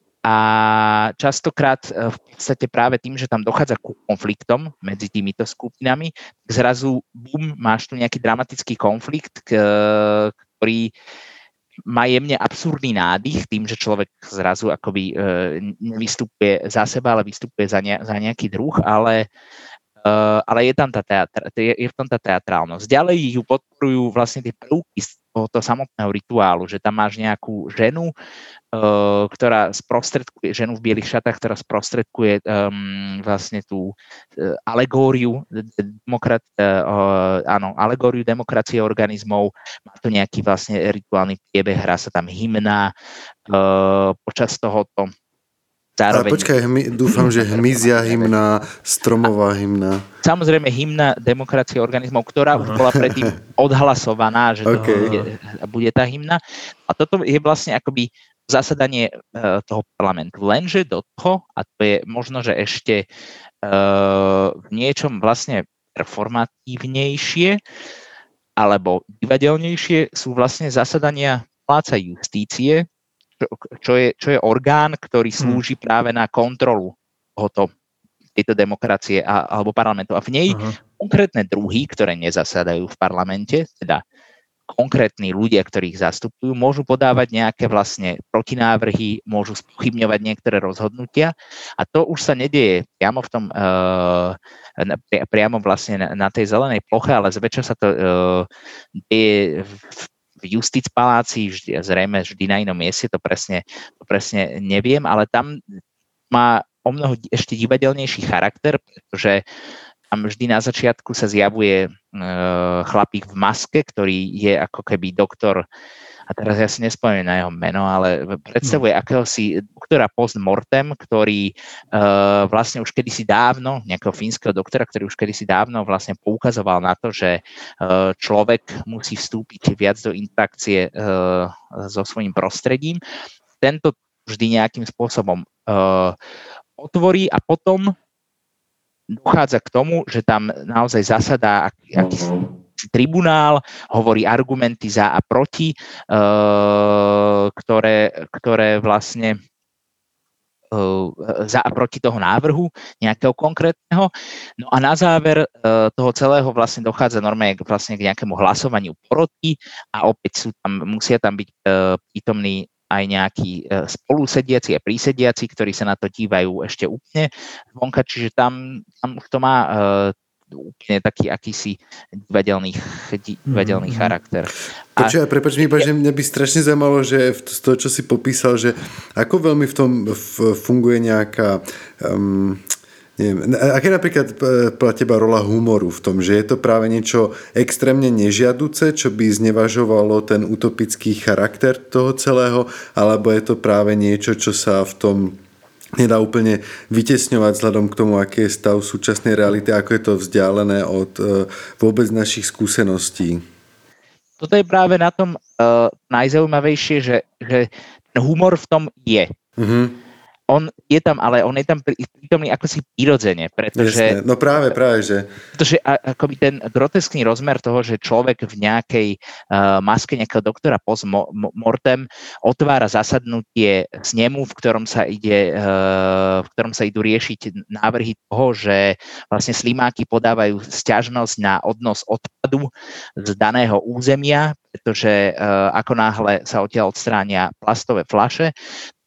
A častokrát v podstate práve tým, že tam dochádza ku konfliktom medzi týmito skupinami, zrazu bum, máš tu nejaký dramatický konflikt, ktorý má jemne absurdný nádych tým, že človek zrazu akoby nevystupuje za seba, ale vystupuje za, ne, za nejaký druh, ale, ale je tam tá teatr, je, je v tom tá teatrálnosť. Ďalej ju podporujú vlastne tie prvky z tohoto samotného rituálu, že tam máš nejakú ženu, uh, ktorá sprostredkuje, ženu v bielých šatách, ktorá sprostredkuje um, vlastne tú uh, alegóriu, demokrat, uh, áno, alegóriu demokracie organizmov. Má to nejaký vlastne rituálny priebeh, hrá sa tam hymna uh, počas tohoto. Zároveň... Ale počkaj, hmy, dúfam, že hmyzia hymna, stromová hymna. Samozrejme hymna demokracie organizmov, ktorá už bola predtým odhlasovaná, že okay. to bude, bude tá hymna. A toto je vlastne akoby zasadanie uh, toho parlamentu. Lenže do toho, a to je možno, že ešte uh, v niečom vlastne performatívnejšie alebo divadelnejšie sú vlastne zasadania paláca justície, Čo je, čo je orgán, ktorý slúži práve na kontrolu tohoto, tejto demokracie a, alebo parlamentu. A v nej uh-huh. konkrétne druhy, ktoré nezasadajú v parlamente, teda konkrétni ľudia, ktorých zastupujú, môžu podávať nejaké vlastne protinávrhy, môžu spochybňovať niektoré rozhodnutia a to už sa nedieje priamo v tom, uh, priamo vlastne na, na tej zelenej ploche, ale zväčša sa to uh, deje v v Justic paláci, vždy, zrejme vždy na inom mieste, to presne, to presne neviem, ale tam má o mnoho ešte divadelnejší charakter, pretože tam vždy na začiatku sa zjavuje e, chlapík v maske, ktorý je ako keby doktor, a teraz ja si nespomínam na jeho meno, ale predstavuje akéhosi doktora post mortem, ktorý uh, vlastne už kedysi dávno, nejakého fínskeho doktora, ktorý už kedysi dávno vlastne poukazoval na to, že uh, človek musí vstúpiť viac do interakcie uh, so svojím prostredím. Tento vždy nejakým spôsobom uh, otvorí a potom dochádza k tomu, že tam naozaj zasadá akýsi tribunál, hovorí argumenty za a proti, uh, ktoré, ktoré vlastne uh, za a proti toho návrhu nejakého konkrétneho. No a na záver uh, toho celého vlastne dochádza normálne vlastne k nejakému hlasovaniu proti a opäť sú tam, musia tam byť uh, prítomní aj nejakí uh, spolusediaci a prísediaci, ktorí sa na to dívajú ešte úplne zvonka, čiže tam, tam už to má uh, úplne taký akýsi divadelný, divadelný mm-hmm. charakter. Počuj, prepáč mi, že mňa by strašne zaujímalo, že z toho, čo si popísal, že ako veľmi v tom funguje nejaká um, neviem, aké napríklad pre teba rola humoru v tom, že je to práve niečo extrémne nežiaduce, čo by znevažovalo ten utopický charakter toho celého, alebo je to práve niečo, čo sa v tom nedá úplne vytesňovať vzhľadom k tomu, aký je stav súčasnej reality, ako je to vzdialené od uh, vôbec našich skúseností. Toto je práve na tom uh, najzaujímavejšie, že, že ten humor v tom je. Mm-hmm. On je tam, ale on je tam prítomný ako si prirodzene, pretože... Jasne. No práve, práve, že... Pretože akoby ten groteskný rozmer toho, že človek v nejakej uh, maske nejakého doktora post mortem otvára zasadnutie snemu, v ktorom sa ide, uh, v ktorom sa idú riešiť návrhy toho, že vlastne slimáky podávajú sťažnosť na odnos odpadu z daného územia, pretože uh, ako náhle sa odtiaľ odstránia plastové fľaše,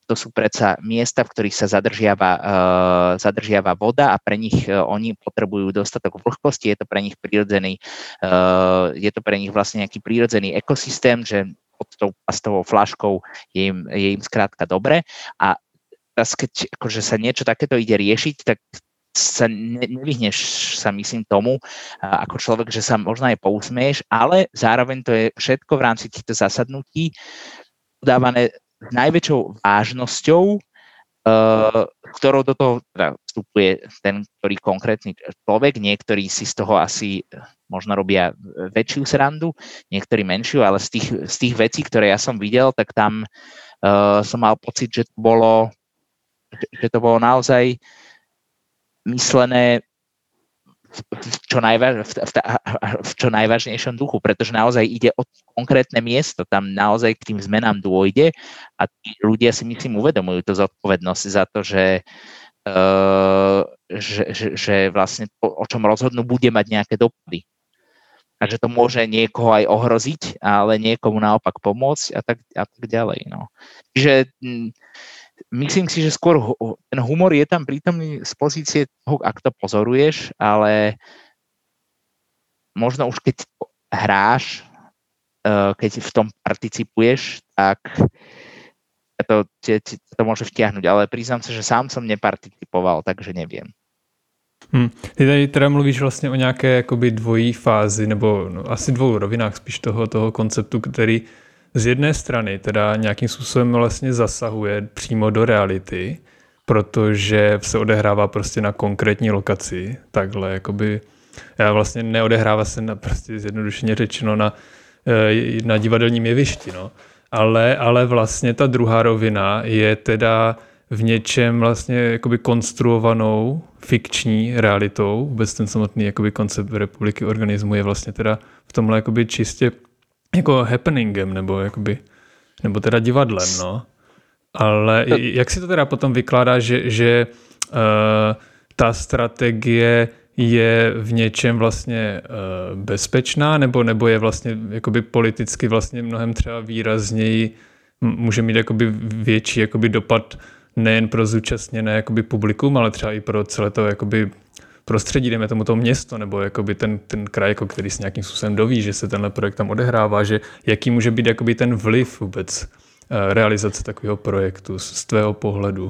to sú predsa miesta, v ktorých sa zadržiava, uh, zadržiava voda a pre nich uh, oni potrebujú dostatok vlhkosti, je to pre nich prirodzený, uh, je to pre nich vlastne nejaký prirodzený ekosystém, že pod tou plastovou fľaškou je im, je im skrátka dobre a teraz keď akože sa niečo takéto ide riešiť, tak sa ne, nevyhneš sa myslím tomu, ako človek, že sa možno aj pousmieš, ale zároveň to je všetko v rámci týchto zasadnutí udávané s najväčšou vážnosťou, uh, ktorou do toho teda vstupuje ten, ktorý konkrétny človek, niektorí si z toho asi možno robia väčšiu srandu, niektorí menšiu, ale z tých, z tých vecí, ktoré ja som videl, tak tam uh, som mal pocit, že to bolo, že to bolo naozaj myslené v čo, najváž, v, v, v čo najvážnejšom duchu, pretože naozaj ide o konkrétne miesto, tam naozaj k tým zmenám dôjde a tí ľudia si myslím uvedomujú to zodpovednosť za to, že, uh, že, že, že vlastne to, o čom rozhodnú, bude mať nejaké dopady. A že to môže niekoho aj ohroziť, ale niekomu naopak pomôcť a tak, a tak ďalej. No. Čiže m, myslím si, že skôr ten humor je tam prítomný z pozície toho, ak to pozoruješ, ale možno už keď hráš, keď v tom participuješ, tak to, to môže vtiahnuť. Ale priznám sa, že sám som neparticipoval, takže neviem. Hmm. Ty tady teda mluvíš vlastně o nějaké jakoby dvojí fázi, nebo no, asi dvou rovinách spíš toho, toho konceptu, který z jedné strany teda nějakým způsobem vlastně zasahuje přímo do reality, protože se odehrává prostě na konkrétní lokaci, takhle jakoby, já vlastně neodehrává se na, prostě zjednodušeně řečeno na, na divadelním jevišti, no. Ale, ale vlastně ta druhá rovina je teda v něčem vlastně jakoby konstruovanou fikční realitou. Vůbec ten samotný jakoby koncept republiky organismu je vlastně teda v tomhle jakoby čistě jako happeningem, nebo jakoby, nebo teda divadlem, no. Ale jak si to teda potom vykládá, že, že uh, ta strategie je v něčem vlastně uh, bezpečná, nebo, nebo je vlastně jakoby politicky vlastně mnohem třeba výrazněji, může mít jakoby větší jakoby dopad nejen pro zúčastněné jakoby publikum, ale třeba i pro celé to jakoby prostředí, dejme tomu to město, nebo jakoby ten, ten kraj, jako který s nějakým způsobem doví, že se tenhle projekt tam odehrává, že jaký může být jakoby ten vliv vůbec uh, realizace takového projektu z, z tvého pohledu?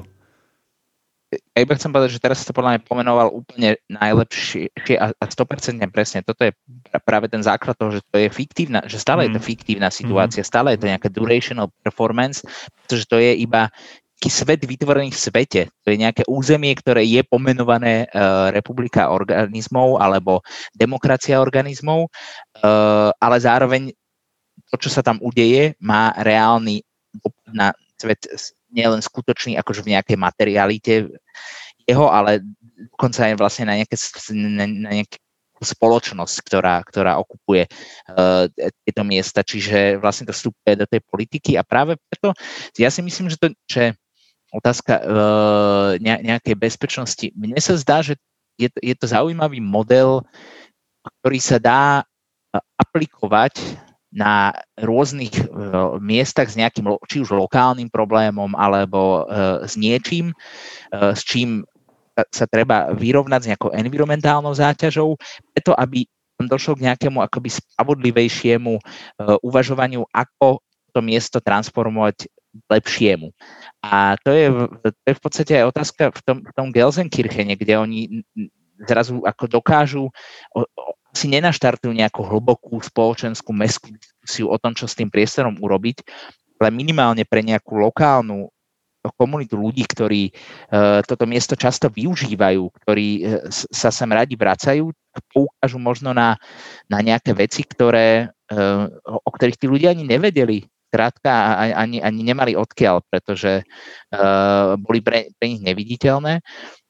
Ja iba chcem povedať, že teraz si to podľa mňa pomenoval úplne najlepšie a sto percent presne. Toto je práve ten základ toho, že to je fiktívna, že stále mm. je to fiktívna situácia, mm. stále je to nejaká durational performance, pretože to je iba taký svet vytvorený v svete. To je nejaké územie, ktoré je pomenované uh, republika organizmov alebo demokracia organizmov, uh, ale zároveň to, čo sa tam udeje, má reálny dopad na svet nielen skutočný akože v nejakej materialite jeho, ale dokonca aj vlastne na nejaké, na, na nejakú spoločnosť, ktorá, ktorá okupuje uh, tieto miesta. Čiže vlastne to vstupuje do tej politiky a práve preto ja si myslím, že to, že otázka uh, nejakej bezpečnosti, mne sa zdá, že je to, je to zaujímavý model, ktorý sa dá aplikovať na rôznych uh, miestach s nejakým, či už lokálnym problémom, alebo uh, s niečím, uh, s čím sa treba vyrovnať s nejakou environmentálnou záťažou, preto aby došlo k nejakému akoby spravodlivejšiemu uh, uvažovaniu, ako to miesto transformovať k lepšiemu. A to je, to je v podstate aj otázka v tom, v tom Gelsenkirchene, kde oni zrazu ako dokážu o, si nenaštartujú nejakú hlbokú spoločenskú mestskú diskusiu o tom, čo s tým priestorom urobiť, ale minimálne pre nejakú lokálnu komunitu ľudí, ktorí uh, toto miesto často využívajú, ktorí uh, sa sem radi vracajú, poukážu možno na, na nejaké veci, ktoré, uh, o ktorých tí ľudia ani nevedeli. Krátka, ani, ani nemali odkiaľ, pretože uh, boli pre, pre nich neviditeľné.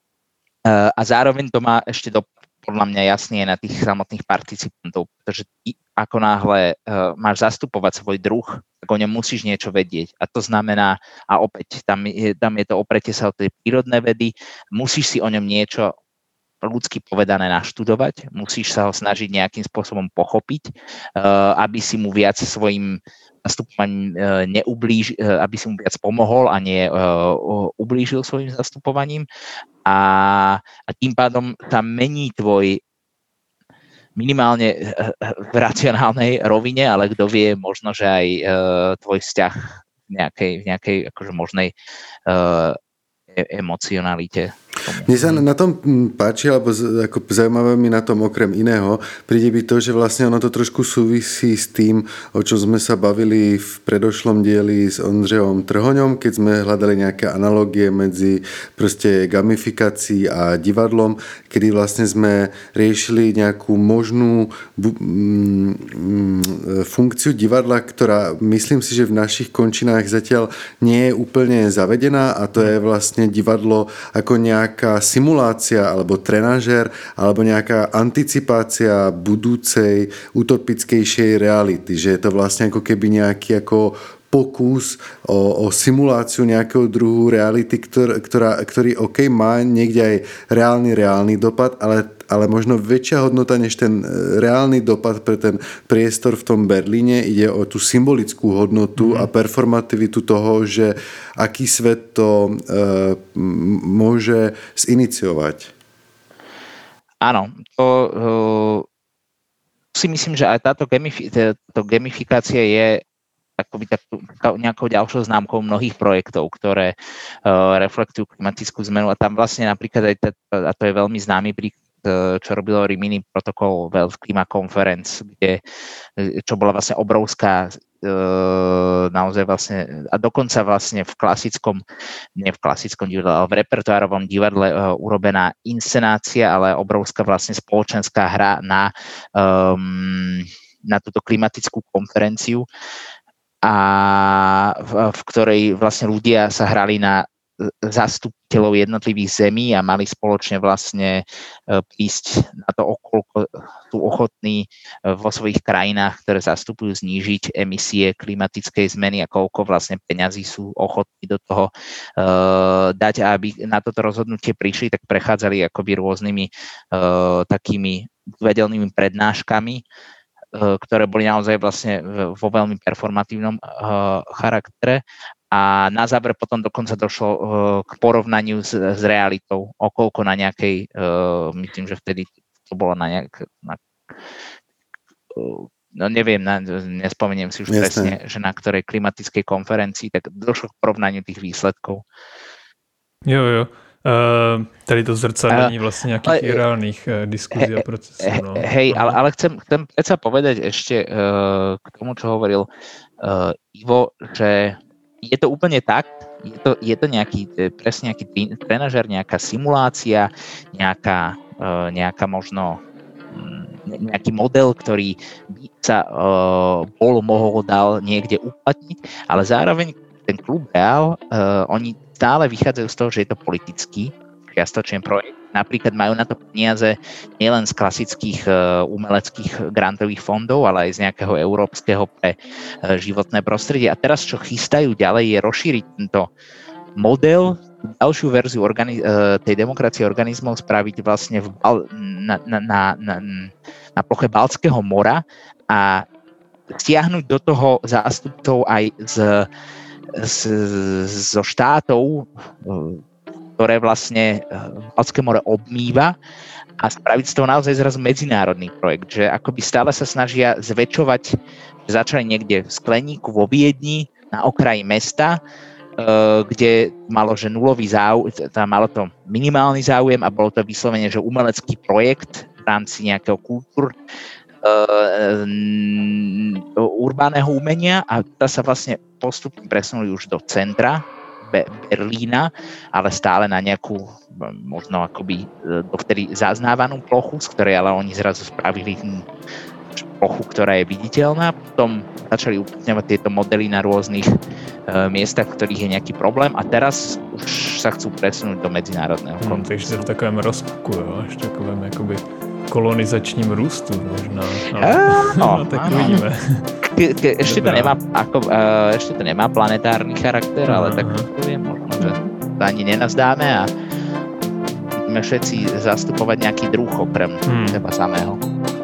Uh, a zároveň to má ešte do podľa mňa jasne na tých samotných participantov, pretože ty ako náhle uh, máš zastupovať svoj druh, tak o ňom musíš niečo vedieť. A to znamená, a opäť, tam je, tam je to opretie sa o tej prírodné vedy, musíš si o ňom niečo ľudsky povedané naštudovať, musíš sa ho snažiť nejakým spôsobom pochopiť, aby si mu viac svojim zastupovaním neublíž, aby si mu viac pomohol a nie ublížil svojim zastupovaním. A, a tým pádom sa mení tvoj minimálne v racionálnej rovine, ale kto vie, možno, že aj tvoj vzťah v nejakej, v nejakej akože možnej emocionalite. Mne sa na tom páči, alebo ako zaujímavé mi na tom okrem iného, príde byť to, že vlastne ono to trošku súvisí s tým, o čom sme sa bavili v predošlom dieli s Ondřejom Trhoňom, keď sme hľadali nejaké analogie medzi proste gamifikácií a divadlom, kedy vlastne sme riešili nejakú možnú funkciu divadla, ktorá myslím si, že v našich končinách zatiaľ nie je úplne zavedená, a to je vlastne divadlo ako nejaká simulácia alebo trenažér alebo nejaká anticipácia budúcej utopickejšej reality, že je to vlastne ako keby nejaký ako pokus o, o simuláciu nejakého druhu reality, ktor, ktorá, ktorý OK má niekde aj reálny, reálny dopad, ale, ale možno väčšia hodnota než ten reálny dopad pre ten priestor v tom Berlíne. Ide o tú symbolickú hodnotu mm. a performativitu toho, že aký svet to e, môže ziniciovať. Áno, to uh, si myslím, že aj táto gamifi- táto gamifikácia je akoby takú, nejakou ďalšou známkou mnohých projektov, ktoré uh, reflektujú klimatickú zmenu, a tam vlastne napríklad aj, tá, a to je veľmi známy príklad, čo robilo Rimini protokol World Clima Conference, kde, čo bola vlastne obrovská uh, naozaj vlastne, a dokonca vlastne v klasickom, nie v klasickom divadle, ale v repertoárovom divadle uh, urobená inscenácia, ale obrovská vlastne spoločenská hra na, um, na túto klimatickú konferenciu, a v, v ktorej vlastne ľudia sa hrali na zastupiteľov jednotlivých zemí a mali spoločne vlastne prísť na to, okoľko sú ochotní vo svojich krajinách, ktoré zastupujú, znížiť emisie klimatickej zmeny a koľko vlastne peňazí sú ochotní do toho uh, dať. A aby na toto rozhodnutie prišli, tak prechádzali akoby rôznymi uh, takými divadelnými prednáškami, ktoré boli naozaj vlastne vo veľmi performatívnom uh, charaktere, a na záver potom dokonca došlo uh, k porovnaniu s, s realitou, okoľko na nejakej, uh, myslím, že vtedy to bolo na nejak, na, uh, no neviem, na, nespomeniem si už Jasne. presne, že na ktorej klimatickej konferencii, tak došlo k porovnaniu tých výsledkov. Jo, jo. Uh, tady to zrcadlení vlastne nejakých uh, reálnych uh, diskuzí a procesov. No. Hej, ale, ale chcem, chcem predsa povedať ešte uh, k tomu, čo hovoril uh, Ivo, že je to úplne tak, je to, je to nejaký, presne nejaký trenažer, nejaká simulácia, nejaká, uh, nejaká možno nejaký model, ktorý by sa uh, bol, mohol, dal niekde uplatniť, ale zároveň ten klub Real, uh, oni stále vychádzajú z toho, že je to politický čiastočný projekt. Napríklad majú na to peniaze nielen z klasických uh, umeleckých grantových fondov, ale aj z nejakého európskeho pre uh, životné prostredie. A teraz, čo chystajú ďalej, je rozšíriť tento model, ďalšiu verziu organi- uh, tej demokracie organizmov spraviť vlastne v Bal- na, na, na, na, na ploche Baltského mora a stiahnuť do toho zástupcov aj z Z, zo štátov, ktoré vlastne Baltské more obmýva, a spraviť z toho naozaj zrazu medzinárodný projekt, že akoby stále sa snažia zväčšovať, že začali niekde v Skleníku vo Viedni na okraji mesta, kde malo, že nulový záujem, tam malo to minimálny záujem a bolo to vyslovene, že umelecký projekt v rámci nejakého kultúr Uh, urbánneho umenia, a tá sa vlastne postupne presunuli už do centra Be- Berlína, ale stále na nejakú možno akoby dovtedy zaznávanú plochu, z ktorej ale oni zrazu spravili plochu, ktorá je viditeľná. Potom začali uplatňovať tieto modely na rôznych uh, miestach, v ktorých je nejaký problém, a teraz už sa chcú presunúť do medzinárodného hmm, kontextu. Takže v takovém rozpuku, jo, až takovém jakoby kolonizačním růstu možná. No, no, tak uvidíme. Ke, ke, ešte, to nemá, ako, uh, ešte to nemá planetárny charakter, ale tak to je možno, že to ani nenazdáme, a musíme všetci zastupovať nejaký druh okrem hmm. seba samého.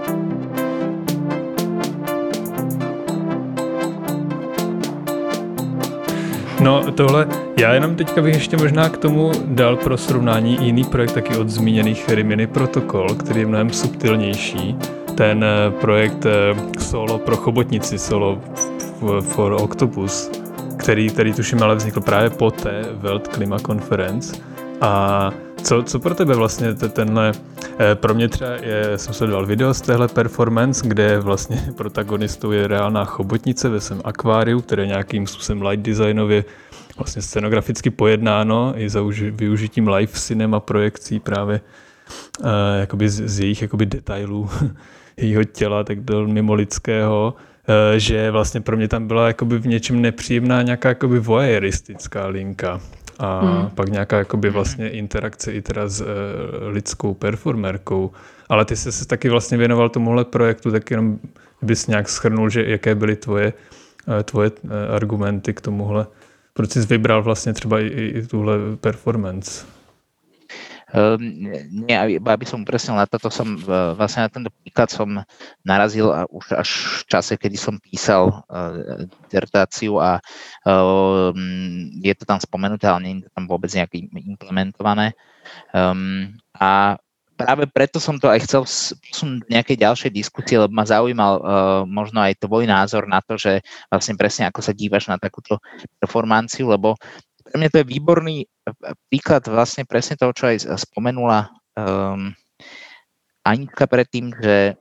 No tohle, já jenom teďka bych ještě možná k tomu dal pro srovnání jiný projekt taky od zmíněných Rimini Protocol, který je mnohem subtilnější. Ten projekt Solo pro chobotnici, Solo for Octopus, který, který tuším ale vznikl právě po té World Klima Conference. A co, co pro tebe vlastně tenhle, pro mě třeba je, jsem sledoval video z téhle performance, kde vlastně protagonistou je reálná chobotnice ve svém akváriu, které nějakým způsobem light designově vlastně scenograficky pojednáno i za uži, využitím live cinema projekcí právě uh, jakoby z, z jejich jakoby detailů jejího těla, tak mimo lidského, uh, že vlastně pro mě tam byla jakoby v něčem nepříjemná nějaká jakoby voyeuristická linka. A hmm. pak nějaká jakoby vlastně interakce i teda s e, lidskou performerkou. Ale ty jsi se taky vlastně věnoval tomuhle projektu, tak jenom bys nějak shrnul, že jaké byly tvoje, e, tvoje e, argumenty k tomuhle. Proč jsi vybral vlastně třeba i, i tuhle performance? Um, nie, aby som upresnil na toto, som vlastne na tento príklad som narazil a už až v čase, kedy som písal uh, dizertáciu a uh, je to tam spomenuté, ale nie je to tam vôbec nejak implementované. Um, a práve preto som to aj chcel posunúť do nejakej ďalšej diskusie, lebo ma zaujímal uh, možno aj tvoj názor na to, že vlastne presne ako sa dívaš na takúto performanciu, lebo pre mňa to je výborný príklad vlastne presne toho, čo aj spomenula um, Anička predtým, že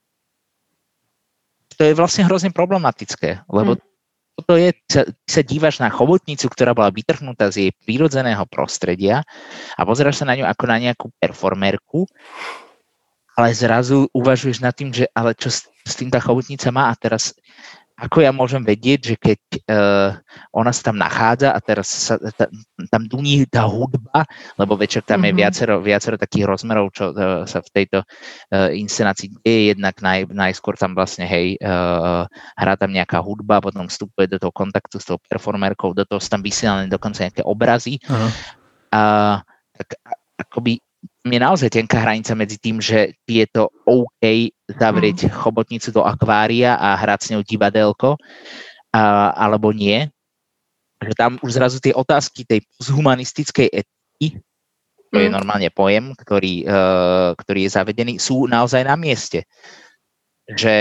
to je vlastne hrozne problematické, lebo toto je, sa, sa dívaš na chobotnicu, ktorá bola vytrhnutá z jej prírodzeného prostredia a pozeráš sa na ňu ako na nejakú performerku, ale zrazu uvažuješ nad tým, že ale čo s, s tým tá chobotnica má a teraz ako ja môžem vedieť, že keď uh, ona sa tam nachádza a teraz sa ta, tam duní tá hudba, lebo večer tam mm-hmm. je viacero, viacero takých rozmerov, čo uh, sa v tejto uh, inscenácii deje, jednak naj, najskôr tam vlastne, hej, uh, hrá tam nejaká hudba, potom vstupuje do toho kontaktu s tou performerkou, do toho sú tam vysielané dokonca nejaké obrazy. Uh-huh. Uh, tak akoby je naozaj tenká hranica medzi tým, že je to OK zavrieť mm. chobotnicu do akvária a hrať s ňou divadelko, a, alebo nie. Že tam už zrazu tie otázky tej humanistickej etiky, to mm. je normálne pojem, ktorý, uh, ktorý je zavedený, sú naozaj na mieste. Že,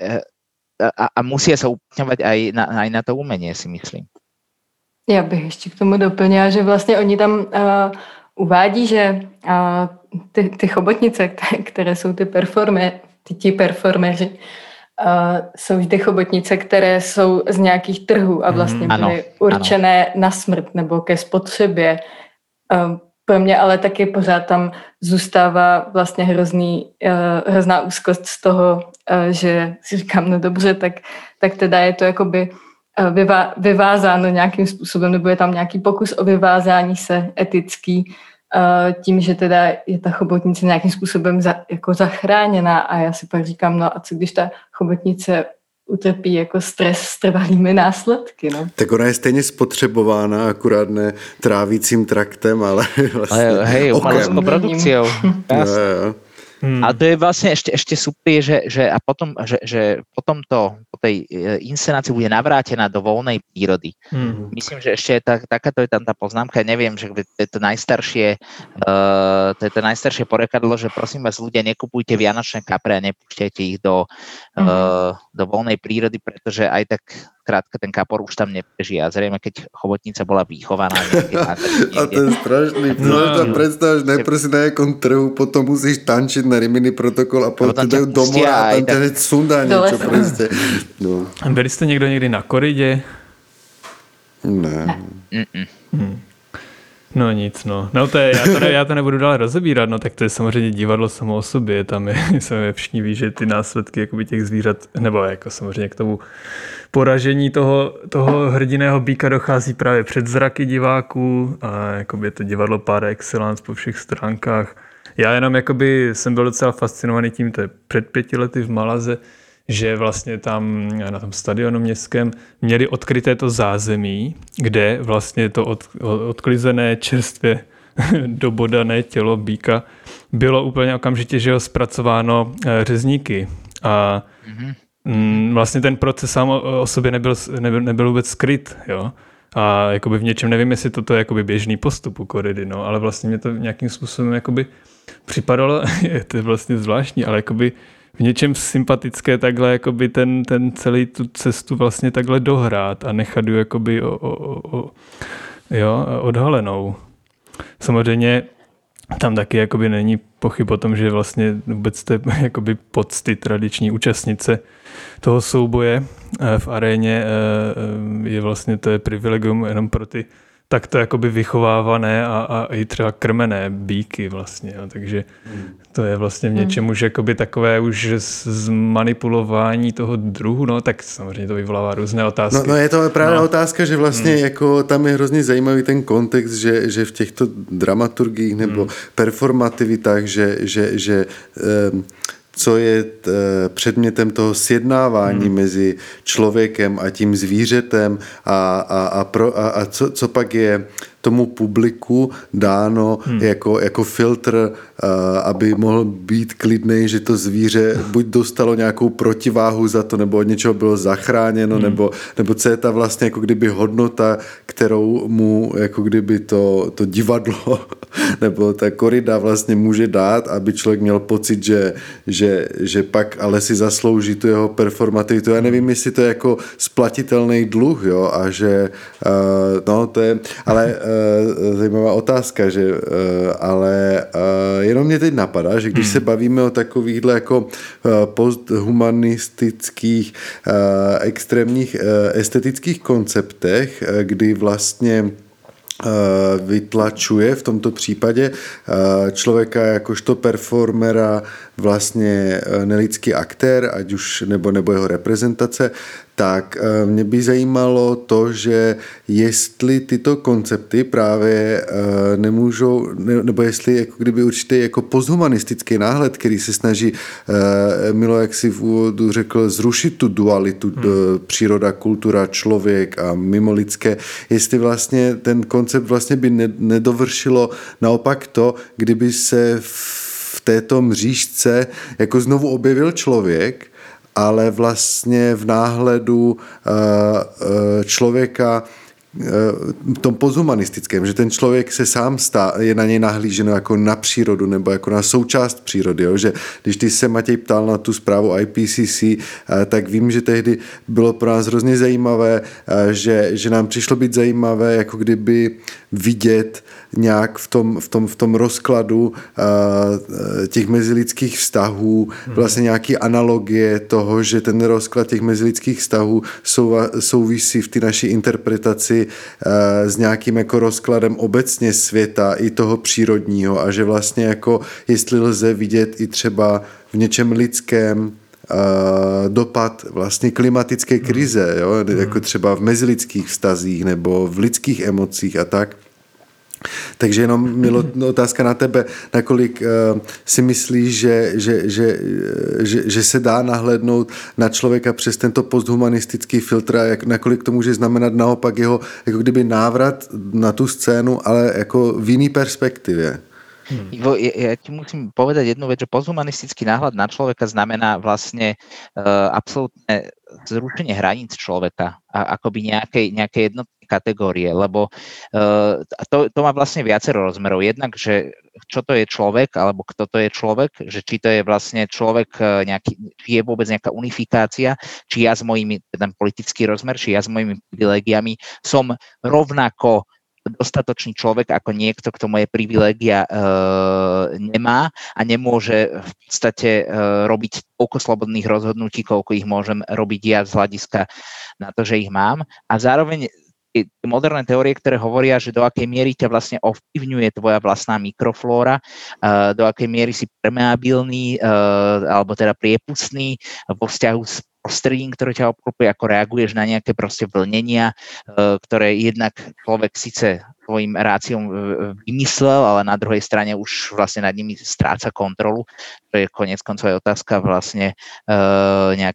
a, a musia sa uplatňovať aj na, aj na to umenie, si myslím. Já bych ještě k tomu doplnila, že vlastně oni tam uh, uvádí, že uh, ty, ty chobotnice, které jsou ty performe, ty ti performeři, uh, jsou vždy chobotnice, které jsou z nějakých trhů a vlastně byly ano, určené ano. na smrt nebo ke spotřebě. Uh, pro mě ale taky pořád tam zůstává vlastně hrozný, uh, hrozná úzkost z toho, uh, že si říkám, no dobře, tak, tak teda je to jakoby Vyvá, vyvázáno nějakým způsobem, nebo je tam nějaký pokus o vyvázání se etický tím, že teda je ta chobotnice nějakým způsobem za, jako zachráněná a já si pak říkám, no a co když ta chobotnice utrpí jako stres s trvalými následky, no. Tak ona je stejně spotřebována, akurát ne trávicím traktem, ale vlastně ale, hej, umeleckou produkciou. Hmm. A to je vlastne ešte, ešte super, že, že, a potom, že, že potom to po tej inscenácii bude navrátená do voľnej prírody. Hmm. Myslím, že ešte je tak, takáto je tam tá poznámka, neviem, že to je to najstaršie uh, to je to najstaršie porekadlo, že prosím vás ľudia, nekupujte vianočné kapre a nepúšťajte ich do, hmm. uh, do voľnej prírody, pretože aj tak krátka ten kapor už tam neprežije a zrejme, keď chobotnica bola vychovaná niekde. A to je strašný. No, no. Predstavíš, najprv si na jakom trhu, potom musíš tančiť na Rimini Protokol a potom ti dajú domov a tam ťa hneď sundá niečo proste. No. Byli jste někdo někdy na koridě? Ne. Hmm. No nic, no. No to je, já, to ne, já to nebudu dál rozebírat, no tak to je samozřejmě divadlo samo o sobě, tam je, se všichni ví, že ty následky jakoby těch zvířat, nebo jako samozřejmě k tomu poražení toho, toho hrdiného býka dochází právě před zraky diváků a jakoby je to divadlo par excellence po všech stránkách. Já jenom jakoby jsem byl docela fascinovaný tím, to je před pěti lety v Malaze, že vlastně tam na tom stadionu městském měli odkryté to zázemí, kde vlastně to od, odklizené čerstvě dobodané tělo býka bylo úplně okamžitě, že ho zpracováno řezníky. A mm, vlastně ten proces sám o sobě nebyl, nebyl, nebyl vůbec skryt, jo. A jakoby v něčem, nevím, jestli toto je jakoby běžný postup u koridy, no, ale vlastně mě to nějakým způsobem jakoby připadalo, je to vlastně zvláštní, ale jakoby v něčem sympatické takhle jakoby ten, ten celý tu cestu vlastně takhle dohrát a nechat ju jakoby o, o, o, jo, odhalenou. Samozřejmě tam taky jakoby není pochyb o tom, že vlastně vůbec té jakoby pocty tradiční účastnice toho souboje v aréně je vlastně to je privilegium jenom pro ty takto jakoby vychovávané a, a i třeba krmené býky vlastně. Jo. Takže to je vlastně v něčem už jakoby takové už zmanipulování toho druhu, no tak samozřejmě to vyvolává různé otázky. No, no je to právě no. otázka, že vlastně hmm. jako tam je hrozně zajímavý ten kontext, že, že v těchto dramaturgiích nebo hmm. performativitách, že, že, že um, co je t, předmětem toho sjednávání hmm. mezi člověkem a tím zvířetem a, a, a, pro, a, a co, co pak je tomu publiku dáno hmm. jako, jako filtr, uh, aby mohl být klidnej, že to zvíře buď dostalo nějakou protiváhu za to, nebo od něčeho bylo zachráněno, hmm. nebo, nebo co je ta vlastně jako kdyby hodnota, kterou mu jako kdyby to, to divadlo nebo ta korida vlastně může dát, aby člověk měl pocit, že, že, že pak ale si zaslouží tu jeho performativitu. Já nevím, jestli to je jako splatitelný dluh, jo, a že uh, no to je, ale uh, zajímavá otázka, že uh, ale uh, jenom mě teď napadá, že když se bavíme o takovýchhle jako uh, posthumanistických uh, extrémních uh, estetických konceptech, uh, kdy vlastně vytlačuje v tomto případě člověka jakožto performera vlastně nelidský aktér, ať už nebo, nebo jeho reprezentace, tak mě by zajímalo to, že jestli tyto koncepty právě nemůžou, nebo jestli jako kdyby určitý jako posthumanistický náhled, který se snaží Milo, jak si v úvodu řekl, zrušit tu dualitu hmm. příroda, kultura, člověk a mimolidské, jestli vlastně ten koncept vlastně by nedovršilo naopak to, kdyby se v této mřížce jako znovu objevil člověk, ale vlastně v náhledu člověka v tom posthumanistickém, že ten člověk se sám stá, je na něj nahlíženo jako na přírodu nebo jako na součást přírody. Jo? Že když ty se Matěj ptal na tu zprávu I P C C, tak vím, že tehdy bylo pro nás hrozně zajímavé, že, že nám přišlo být zajímavé, jako kdyby vidět nějak v tom, v tom, v tom rozkladu těch mezilidských vztahů vlastně nějaký analogie toho, že ten rozklad těch mezilidských vztahů souvisí v té naší interpretaci s nějakým jako rozkladem obecně světa i toho přírodního a že vlastně jako jestli lze vidět i třeba v něčem lidském dopad vlastně klimatické krize, jo? Jako třeba v mezilidských vztazích nebo v lidských emocích a tak. Takže jenom Milo, otázka na tebe, nakolik uh, si myslíš, že, že, že, že, že se dá nahlédnout na člověka přes tento posthumanistický filtr a jak, nakolik to může znamenat naopak jeho jako kdyby návrat na tu scénu, ale jako v jiný perspektivě. Hmm. Ivo, ja, ja ti musím povedať jednu vec, že posthumanistický náhľad na človeka znamená vlastne uh, absolútne zrušenie hraníc človeka a akoby nejakej, nejakej jednotnej kategórie, lebo uh, to, to má vlastne viacero rozmerov. Jednak, že čo to je človek, alebo kto to je človek, že či to je vlastne človek nejaký, či je vôbec nejaká unifikácia, či ja s mojimi, ten politický rozmer, či ja s mojimi privilégiami som rovnako dostatočný človek ako niekto, kto moje privilégia e, nemá a nemôže v podstate e, robiť toľko slobodných rozhodnutí, koľko ich môžem robiť ja z hľadiska na to, že ich mám. A zároveň moderné teórie, ktoré hovoria, že do akej miery ťa vlastne ovplyvňuje tvoja vlastná mikroflóra, e, do akej miery si permeabilný e, alebo teda priepustný vo vzťahu s prostredím, ktoré ťa obklopuje, ako reaguješ na nejaké proste vlnenia, ktoré jednak človek síce svojim ráciom vymyslel, ale na druhej strane už vlastne nad nimi stráca kontrolu. To je koniec koncov aj otázka vlastne nejak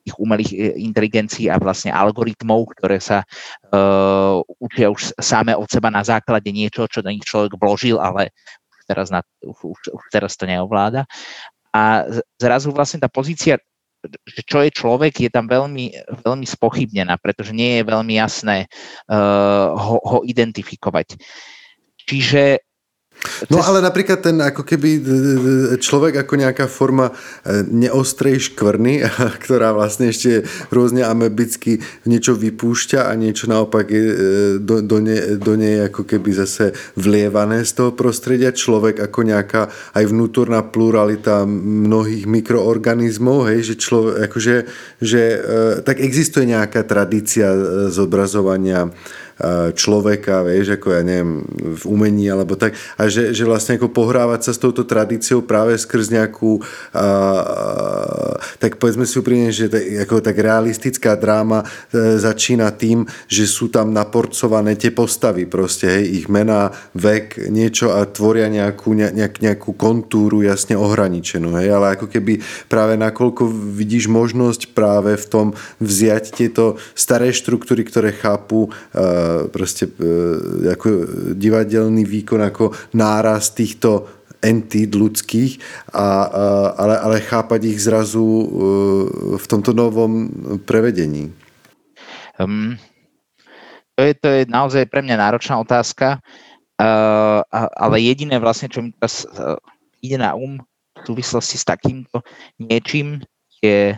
tých umelých inteligencií a vlastne algoritmov, ktoré sa uh, učia už same od seba na základe niečo, čo do nich človek vložil, ale už teraz, na, už, už teraz to neovláda. A zrazu vlastne tá pozícia, že čo je človek, je tam veľmi, veľmi spochybnená, pretože nie je veľmi jasné uh, ho, ho identifikovať. Čiže No ale napríklad ten ako keby človek ako nejaká forma neostrej škvrny, ktorá vlastne ešte rôzne amebicky niečo vypúšťa a niečo naopak je do, do, ne, do nej ako keby zase vlievané z toho prostredia. Človek ako nejaká aj vnútorná pluralita mnohých mikroorganizmov, hej, že človek, akože, že tak existuje nejaká tradícia zobrazovania človeka, vieš, ako ja neviem, v umení alebo tak, a že, že vlastne ako pohrávať sa s touto tradíciou práve skrz nejakú a, tak povedzme si úprimne, že tak, ako tak realistická dráma e, začína tým, že sú tam naporcované tie postavy proste, hej, ich mená, vek, niečo a tvoria nejakú, nejak, nejakú kontúru jasne ohraničenú, hej, ale ako keby práve nakoľko vidíš možnosť práve v tom vziať tieto staré štruktúry, ktoré chápu e, proste ako divadelný výkon ako náraz týchto entít ľudských, a, ale, ale chápať ich zrazu v tomto novom prevedení. Um, to, je, to je naozaj pre mňa náročná otázka, uh, ale jediné vlastne, čo mi teraz uh, ide na um v súvislosti s takýmto niečím, je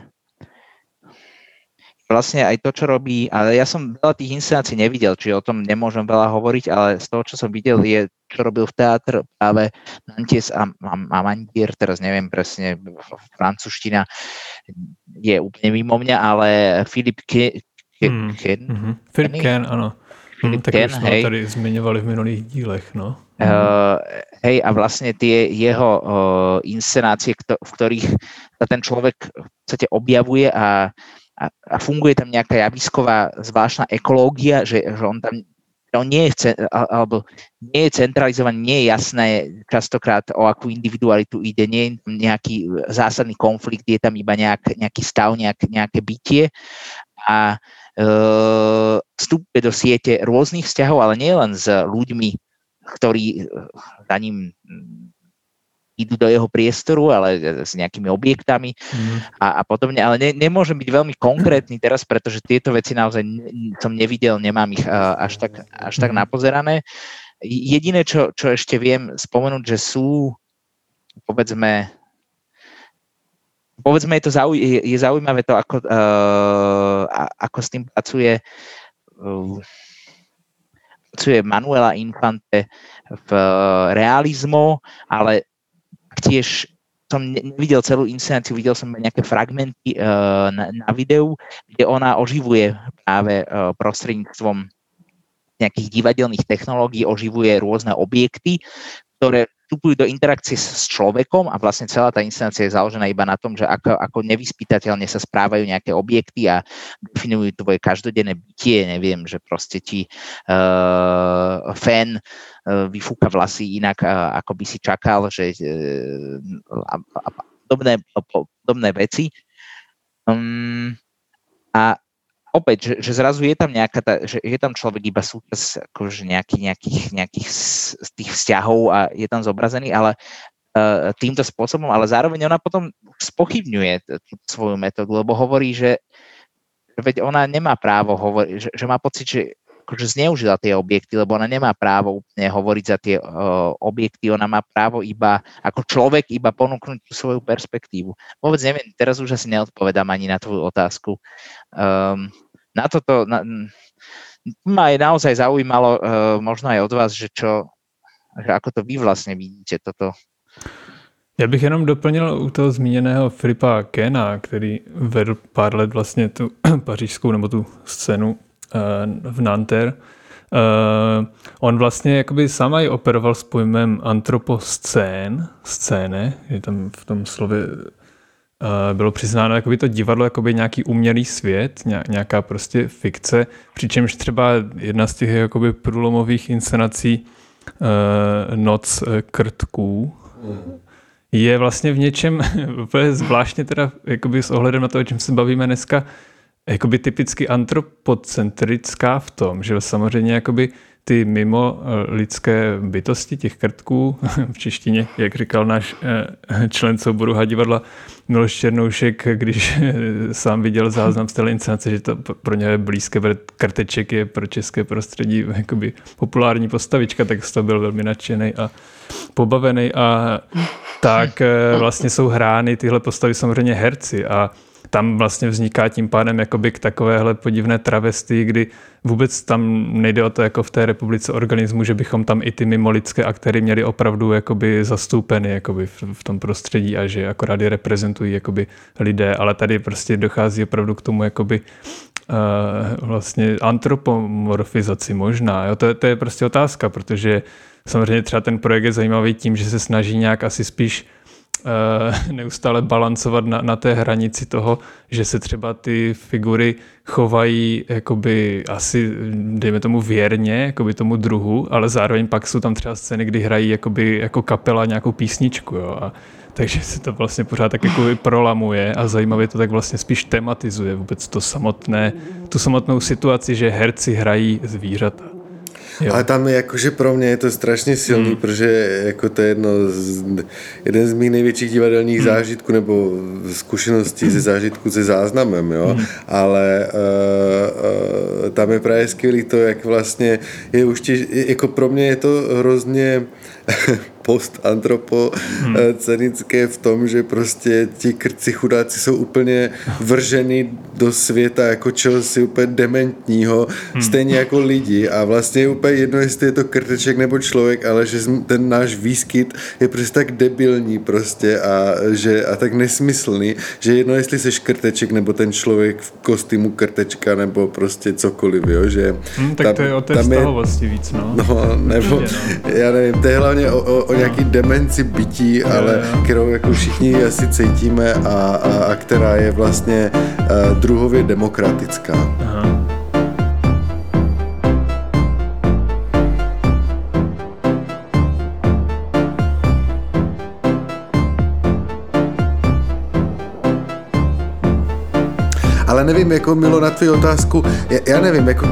vlastne aj to, čo robí, ale ja som veľa tých inscenácií nevidel, čiže o tom nemôžem veľa hovoriť, ale z toho, čo som videl, je, čo robil v teátr práve Nantes a, a, a Mandier, teraz neviem presne, francúzština je úplne mimo mňa, ale Philip Ken, hmm. Ken, mm-hmm. Philip Ken, áno. Philip hmm, Ken, tak už sme tady zmiňovali v minulých dílech, no. Uh, hej, a vlastne tie jeho uh, inscenácie, kto, v ktorých sa ten človek v podstate objavuje a A, a funguje tam nejaká javisková zvláštna ekológia, že, že on tam on nie, je, alebo nie je centralizovaný, nie je jasné častokrát, o akú individualitu ide, nie je nejaký zásadný konflikt, je tam iba nejak, nejaký stav, nejak, nejaké bytie a e, vstupuje do siete rôznych vzťahov, ale nie len s ľuďmi, ktorí za ním idú do jeho priestoru, ale s nejakými objektami mm. a, a podobne. Ale ne, nemôžem byť veľmi konkrétny teraz, pretože tieto veci naozaj ne, som nevidel, nemám ich uh, až tak, až tak napozerané. Jediné, čo, čo ešte viem spomenúť, že sú, povedzme, povedzme je, to zauj- je, je zaujímavé to, ako, uh, ako s tým pracuje uh, pracuje Manuela Infante v uh, realizmo, ale tiež som nevidel celú inscenáciu, videl som nejaké fragmenty uh, na, na videu, kde ona oživuje práve uh, prostredníctvom nejakých divadelných technológií, oživuje rôzne objekty, ktoré vstupujú do interakcie s človekom a vlastne celá tá inscenácia je založená iba na tom, že ako, ako nevyspytateľne sa správajú nejaké objekty a definujú tvoje každodenné bytie, neviem, že proste ti uh, fan vyfúka vlasy inak, ako by si čakal, že a, a podobné, podobné veci. Um, a opäť, že, že zrazu je tam nejaká, tá, že je tam človek iba súčasť akože nejaký, nejakých, nejakých z tých vzťahov a je tam zobrazený, ale uh, týmto spôsobom, ale zároveň ona potom spochybňuje tú svoju metódu, lebo hovorí, že veď ona nemá právo hovoriť, že, že má pocit, že akože zneužila tie objekty, lebo ona nemá právo úplne hovoriť za tie uh, objekty, ona má právo iba, ako človek, iba ponúknuť tú svoju perspektívu. Vôbec neviem, teraz už asi neodpovedám ani na tvoju otázku. Um, na toto na, ma aj naozaj zaujímalo, uh, možno aj od vás, že čo, že ako to vy vlastne vidíte toto. Já bych jenom doplnil u toho zmíněného Filipa Kena, který vedl pár let vlastně tu pařížskou nebo tu scénu v Nanterre. Uh, on vlastně jakoby sám aj operoval s pojmem antroposcén, scéne, je tam v tom slově uh, bylo přiznáno jakoby to divadlo jakoby nějaký umělý svět, nějaká prostě fikce, přičemž třeba jedna z těch jakoby průlomových inscenací uh, Noc krtků je vlastně v něčem úplně zvláštně teda jakoby s ohledem na to, o čem se bavíme dneska, jakoby typicky antropocentrická v tom, že samozřejmě jakoby ty mimo lidské bytosti, těch krtků, v češtině, jak říkal náš člen souboru Hadivadla Miloš Černoušek, když sám viděl záznam z té inscenace, že to pro ně je blízké, protože Krteček je pro české prostředí jakoby populární postavička, tak z toho byl velmi nadšený a pobavený a tak vlastně jsou hrány tyhle postavy samozřejmě herci a tam vlastně vzniká tím pádem jakoby k takovéhle podivné travestii, kdy vůbec tam nejde o to jako v té republice organismu, že bychom tam i ty mimolidské aktéry měli opravdu jakoby zastoupeny jakoby v, v tom prostředí a že akorát je reprezentují jakoby lidé, ale tady prostě dochází opravdu k tomu jakoby uh, vlastně antropomorfizaci možná. Jo? To, je, to je prostě otázka, protože samozřejmě třeba ten projekt je zajímavý tím, že se snaží nějak asi spíš neustále balancovat na, na té hranici toho, že se třeba ty figury chovají jakoby asi, dejme tomu věrně, jakoby tomu druhu, ale zároveň pak jsou tam třeba scény, kdy hrají jakoby, jako kapela nějakou písničku, jo, a takže se to vlastně pořád tak jako prolamuje a zajímavě to tak vlastně spíš tematizuje vůbec to samotné, tu samotnou situaci, že herci hrají zvířata. Jo. Ale tam jakože pro mě je to strašně silný, mm. protože jako to je jedno z, jeden z mých největších divadelních mm. zážitků nebo zkušeností mm. ze zážitku se záznamem, jo. Mm. Ale uh, uh, tam je právě skvělý to, jak vlastně je už těž, jako pro mě je to hrozně postantropocenické v tom, že prostě ti krci chudáci jsou úplně vrženi do světa jako čehosi úplně dementního, hmm. stejně jako lidi a vlastně je úplně jedno, jestli je to krteček nebo člověk, ale že ten náš výskyt je prostě tak debilní prostě a, že, a tak nesmyslný, že jedno, jestli seš krteček nebo ten člověk v kostýmu krtečka nebo prostě cokoliv, jo, že hmm, tak tam, to je o té vztahovosti víc, no. No, nebo, no. Já nevím, to je hlavně o, o, o nějaký demenci bytí, ale kterou jako všichni asi cítíme a, a, a která je vlastně uh, druhově demokratická. Aha. Ale nevím, jako Milo, na tvou otázku, já, já nevím, jako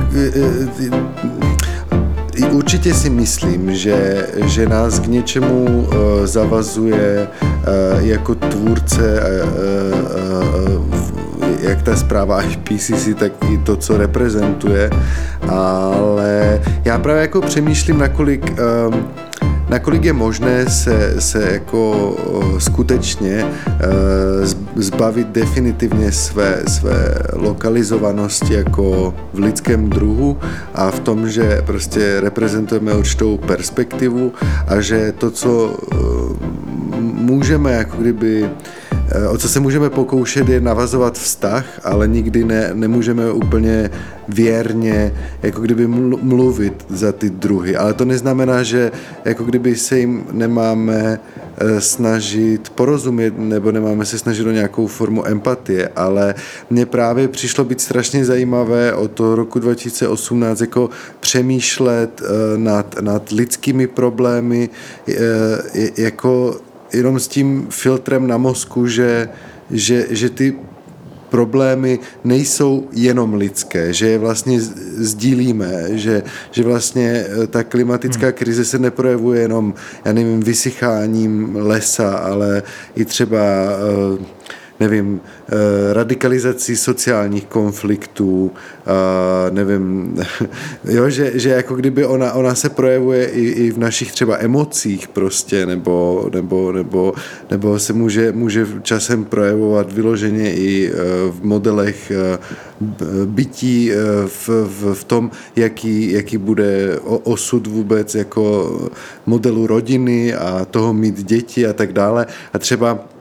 určitě si myslím, že, že nás k něčemu uh, zavazuje uh, jako tvůrce, uh, uh, jak ta zpráva I P C C, tak i to, co reprezentuje, ale já právě jako přemýšlím, nakolik uh, nakolik je možné se, se jako skutečně zbavit definitivně své, své lokalizovanosti jako v lidském druhu a v tom, že prostě reprezentujeme určitou perspektivu a že to, co můžeme jako kdyby o co se můžeme pokoušet, je navazovat vztah, ale nikdy ne, nemůžeme úplně věrně jako kdyby mluvit za ty druhy. Ale to neznamená, že jako kdyby se jim nemáme snažit porozumět nebo nemáme se snažit o nějakou formu empatie, ale mně právě přišlo být strašně zajímavé od toho roku dva tisíce osmnáct jako přemýšlet nad, nad lidskými problémy jako jenom s tím filtrem na mozku, že, že, že ty problémy nejsou jenom lidské, že je vlastně sdílíme, že, že vlastně ta klimatická krize se neprojevuje jenom, já nevím, vysycháním lesa, ale i třeba nevím, radikalizací sociálních konfliktů, nevím, jo, že, že jako kdyby ona, ona se projevuje i, i v našich třeba emocích prostě, nebo, nebo, nebo, nebo se může, může časem projevovat vyloženě i v modelech bytí, v, v, v tom, jaký, jaký bude osud vůbec jako modelu rodiny a toho mít děti a tak dále. A třeba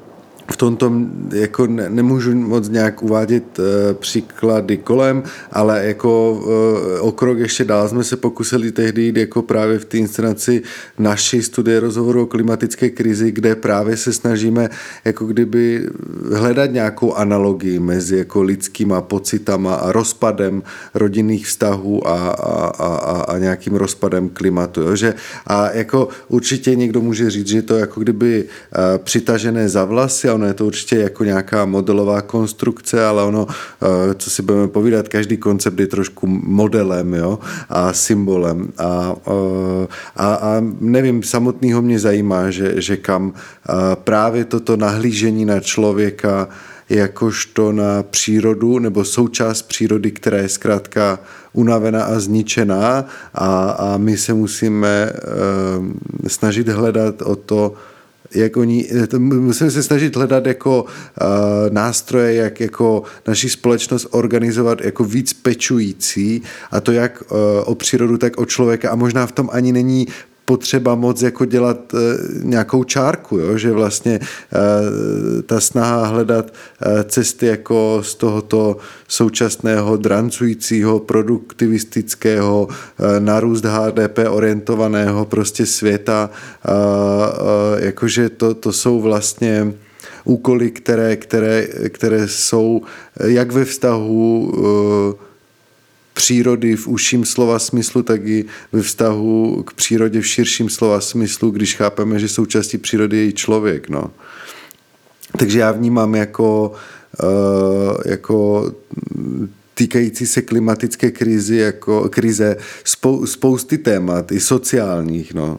v tomto jako ne, nemůžu moc nějak uvádět e, příklady kolem, ale jako e, o krok ještě dál jsme se pokusili tehdy jít jako právě v té inscenaci naší studie rozhovoru o klimatické krizi, kde právě se snažíme jako kdyby hledat nějakou analogii mezi jako lidskýma pocitama a rozpadem rodinných vztahů a, a, a, a nějakým rozpadem klimatu. Jo? Že, a jako určitě někdo může říct, že to jako kdyby e, přitažené za vlasy, ono je to určitě jako nějaká modelová konstrukce, ale ono, co si budeme povídat, každý koncept je trošku modelem, jo, a symbolem. A, a, a nevím, samotného mě zajímá, že, že kam právě toto nahlížení na člověka jakožto na přírodu nebo součást přírody, která je zkrátka unavená a zničená a, a my se musíme uh, snažit hledat o to, jak oni, musíme se snažit hledat jako uh, nástroje, jak jako naši společnost organizovat jako víc pečující, a to jak uh, o přírodu, tak o člověka, a možná v tom ani není potřeba moc jako dělat e, nějakou čárku, jo? Že vlastně e, ta snaha hledat e, cesty jako z tohoto současného drancujícího, produktivistického, e, na růst H D P orientovaného prostě světa, e, e, jakože to, to jsou vlastně úkoly, které, které, které jsou jak ve vztahu e, přírody v užším slova smyslu, tak i ve vztahu k přírodě v širším slova smyslu, když chápeme, že součástí přírody je i člověk. No. Takže já vnímám jako, uh, jako týkající se klimatické krizi, jako krize spou, spousty témat, i sociálních. No.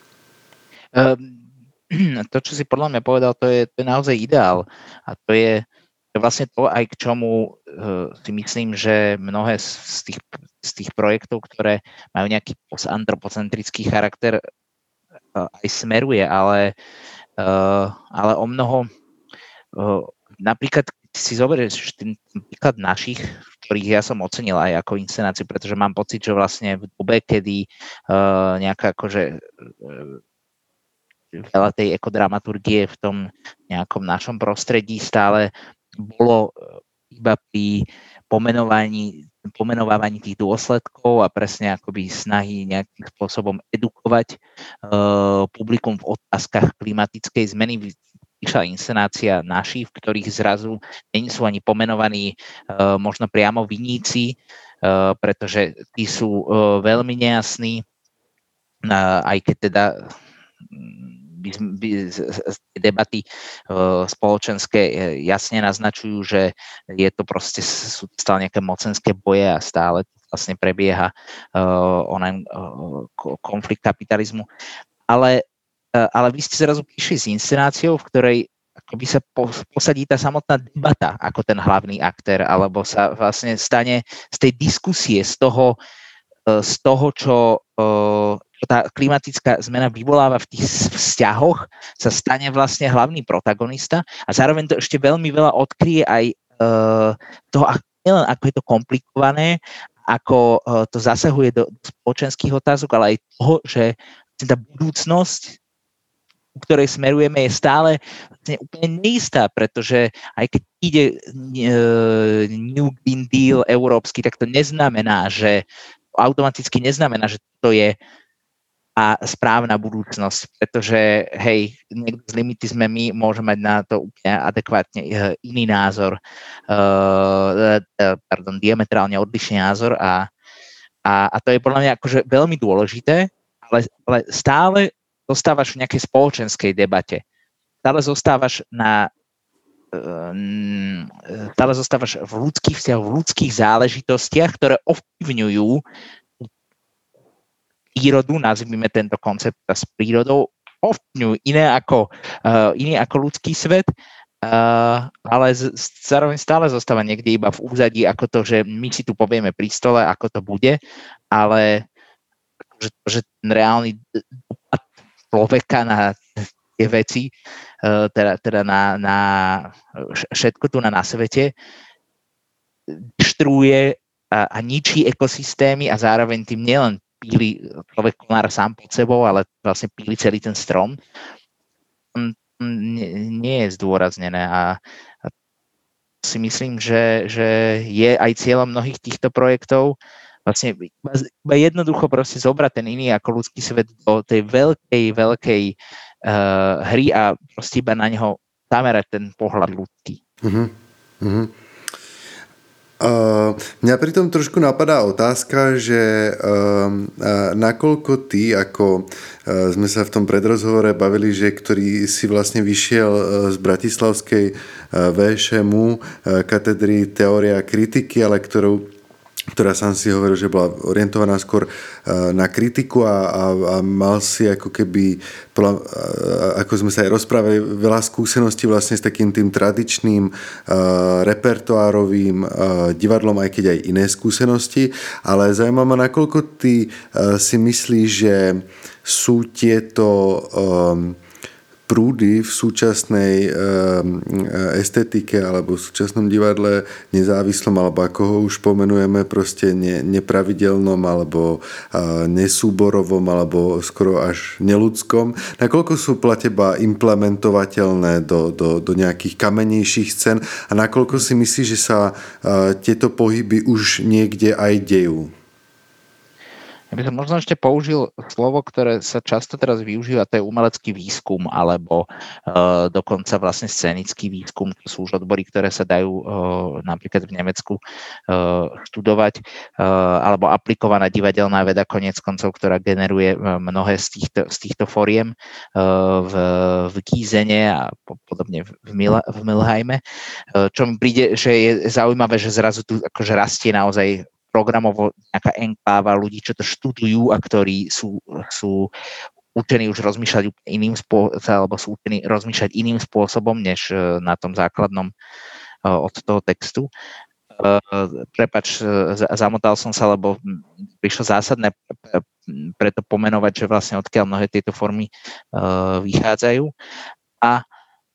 Um, to, čo si podľa mňa povedal, to je, to je naozaj ideál. A to je To je vlastne to, aj k čomu uh, si myslím, že mnohé z tých, z tých projektov, ktoré majú nejaký antropocentrický charakter, uh, aj smeruje, ale, uh, ale o mnoho, uh, napríklad si zoberieš ten príklad našich, ktorých ja som ocenil aj ako inscenáciu, pretože mám pocit, že vlastne v dobe, kedy uh, nejaká akože uh, veľa tej ekodramaturgie v tom nejakom našom prostredí stále bolo iba pri pomenovaní, pomenovávaní tých dôsledkov a presne akoby snahy nejakým spôsobom edukovať uh, publikum v otázkach klimatickej zmeny. Vyšla inscenácia naší, v ktorých zrazu nie sú ani pomenovaní uh, možno priamo viníci, uh, pretože tí sú uh, veľmi nejasní, uh, aj keď teda by, by, debaty uh, spoločenské jasne naznačujú, že je to proste, sú stále nejaké mocenské boje a stále vlastne prebieha uh, onen uh, konflikt kapitalizmu. Ale, uh, ale vy ste zrazu prišli s inscenáciou, v ktorej akoby sa po, posadí tá samotná debata ako ten hlavný aktér, alebo sa vlastne stane z tej diskusie, z toho, uh, z toho čo uh, tá klimatická zmena vyvoláva v tých vzťahoch, sa stane vlastne hlavný protagonista a zároveň to ešte veľmi veľa odkryje aj uh, toho, nielen ako je to komplikované, ako uh, to zasahuje do spoločenských otázok, ale aj toho, že tá budúcnosť, u ktorej smerujeme, je stále vlastne úplne neistá, pretože aj keď ide uh, New Green Deal európsky, tak to neznamená, že automaticky neznamená, že to je a správna budúcnosť, pretože hej, niekto z limity sme my, môže mať na to úplne adekvátne iný názor, uh, pardon, diametrálne odlišný názor a, a, a to je podľa mňa akože veľmi dôležité, ale, ale stále zostávaš v nejakej spoločenskej debate. Stále zostávaš na stále zostávaš v ľudských vzťahoch, v ľudských záležitostiach, ktoré ovplyvňujú prírodu, nazvime tento koncept s prírodou, ovplyvňujú iné ako, uh, iný ako ľudský svet, uh, ale z, zároveň stále zostáva niekde iba v úzadí, ako to, že my si tu povieme pri stole, ako to bude, ale že, že ten reálny dopad človeka na tie veci, uh, teda, teda na, na všetko tu na, na svete, deštruuje a, a ničí ekosystémy a zároveň tým nielen píli človek konár sám pod sebou, ale vlastne píli celý ten strom. nie je zdôraznené a si myslím, že, že je aj cieľom mnohých týchto projektov vlastne iba jednoducho proste zobrať ten iný ako ľudský svet do tej veľkej, veľkej uh, hry a proste iba na neho zamerať ten pohľad ľudský. Uh-huh. Uh-huh. Uh, mňa pritom trošku napadá otázka, že uh, uh, nakoľko ty, ako uh, sme sa v tom predrozhovore bavili, že ktorý si vlastne vyšiel uh, z Bratislavskej uh, vé š em u, uh, katedry teória a kritiky, ale ktorou ktorá sám si hovoril, že bola orientovaná skôr na kritiku a, a, a mal si ako keby, ako sme sa aj rozprávali, veľa skúseností vlastne s takým tým tradičným uh, repertoárovým uh, divadlom, aj keď aj iné skúsenosti, ale zaujímavé ma, nakoľko ty uh, si myslíš, že sú tieto um, prúdy v súčasnej estetike alebo v súčasnom divadle nezávislom, alebo ako ho už pomenujeme, proste ne, nepravidelnom alebo nesúborovom alebo skoro až neludskom. Nakoľko sú pre teba implementovateľné do, do, do nejakých kamenejších scén a nakoľko si myslíš, že sa tieto pohyby už niekde aj dejú? Ja by som možno ešte použil slovo, ktoré sa často teraz využíva, to je umelecký výskum, alebo uh, dokonca vlastne scénický výskum. To sú už odbory, ktoré sa dajú uh, napríklad v Nemecku uh, študovať, uh, alebo aplikovaná divadelná veda konec koncov, ktorá generuje mnohé z týchto, z týchto foriem uh, v, v Gízene a podobne v, Mil, v Milheime. Uh, čo mi príde, že je zaujímavé, že zrazu tu akože rastie naozaj programovo nejaká enkláva ľudí, čo to študujú a ktorí sú, sú učení už rozmýšľať iným spôsobom, alebo sú učení rozmýšľať iným spôsobom, než na tom základnom od toho textu. Prepáč, zamotal som sa, lebo prišlo zásadné preto pomenovať, že vlastne odkiaľ mnohé tieto formy vychádzajú. A,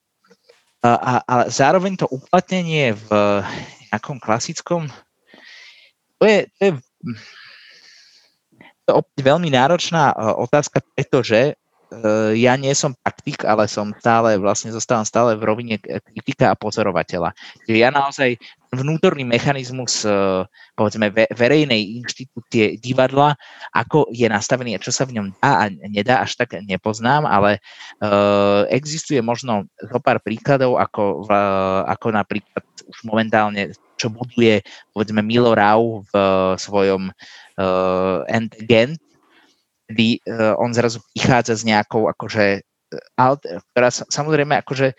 a, a zároveň to uplatnenie v nejakom klasickom To je, to je, to je opäť veľmi náročná otázka, pretože ja nie som praktik, ale som stále, vlastne zostávam stále v rovine kritika a pozorovateľa. Čiže ja naozaj vnútorný mechanizmus, povedzme, verejnej inštitúcie divadla, ako je nastavený a čo sa v ňom dá a nedá, až tak nepoznám, ale existuje možno zo pár príkladov, ako, ako napríklad už momentálne čo buduje, povedzme, Milo Rau v svojom uh, End-Gent, kedy uh, on zrazu prichádza s nejakou, akože, alt, ktorá samozrejme, akože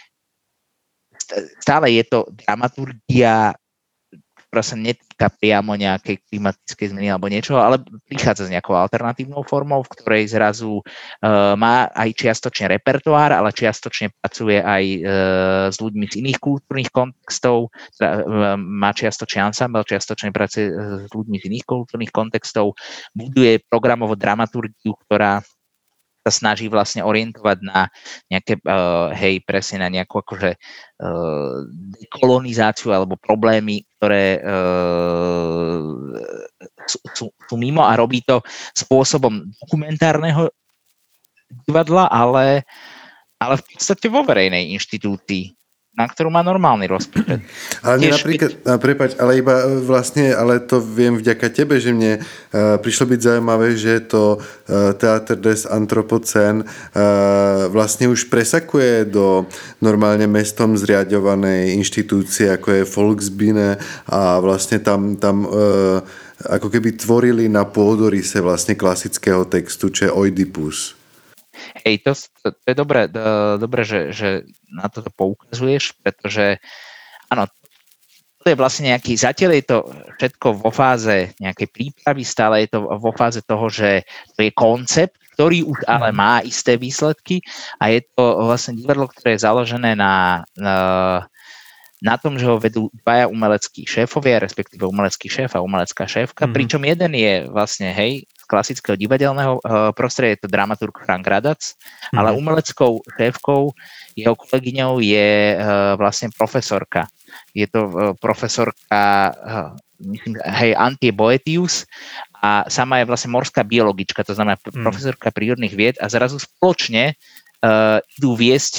stále je to dramaturgia, ktorá sa netýka priamo nejakej klimatickej zmeny alebo niečo, ale prichádza s nejakou alternatívnou formou, v ktorej zrazu uh, má aj čiastočne repertoár, ale čiastočne pracuje aj uh, s ľuďmi z iných kultúrnych kontextov, teda, uh, má čiastočne ensemble, čiastočne pracuje uh, s ľuďmi z iných kultúrnych kontextov, buduje programovo dramaturgiu, ktorá sa snaží vlastne orientovať na nejaké, uh, hej, presne na nejakú akože uh, dekolonizáciu alebo problémy, ktoré uh, sú, sú, sú mimo a robí to spôsobom dokumentárneho divadla, ale, ale v podstate vo verejnej inštitúcii, na ktorú má normálny rozpočet. Ale mne napríklad, keď... prepáč, ale iba vlastne, ale to viem vďaka tebe, že mne uh, prišlo byť zaujímavé, že to uh, Theater des Anthropocén uh, vlastne už presakuje do normálne mestom zriaďovanej inštitúcie, ako je Volksbühne a vlastne tam, tam uh, ako keby tvorili na pôdorise vlastne klasického textu, čo je Oidipus. Hej, to, to, to je dobré, do, dobré že, že na toto poukazuješ, pretože áno, to je vlastne nejaký, zatiaľ je to všetko vo fáze nejakej prípravy, stále je to vo fáze toho, že to je koncept, ktorý už ale má isté výsledky a je to vlastne divadlo, ktoré je založené na, na, na tom, že ho vedú dvaja umeleckí šéfovia, respektíve umelecký šéf a umelecká šéfka, mm-hmm. pričom jeden je vlastne, hej, klasického divadelného uh, prostredia, je to dramaturg Frank Radac, mm-hmm. ale umeleckou šéfkou, jeho kolegyňou je uh, vlastne profesorka. Je to uh, profesorka, uh, myslím, hej, Antje Boetius a sama je vlastne morská biologička, to znamená mm. profesorka prírodných vied a zrazu spoločne uh, idú viesť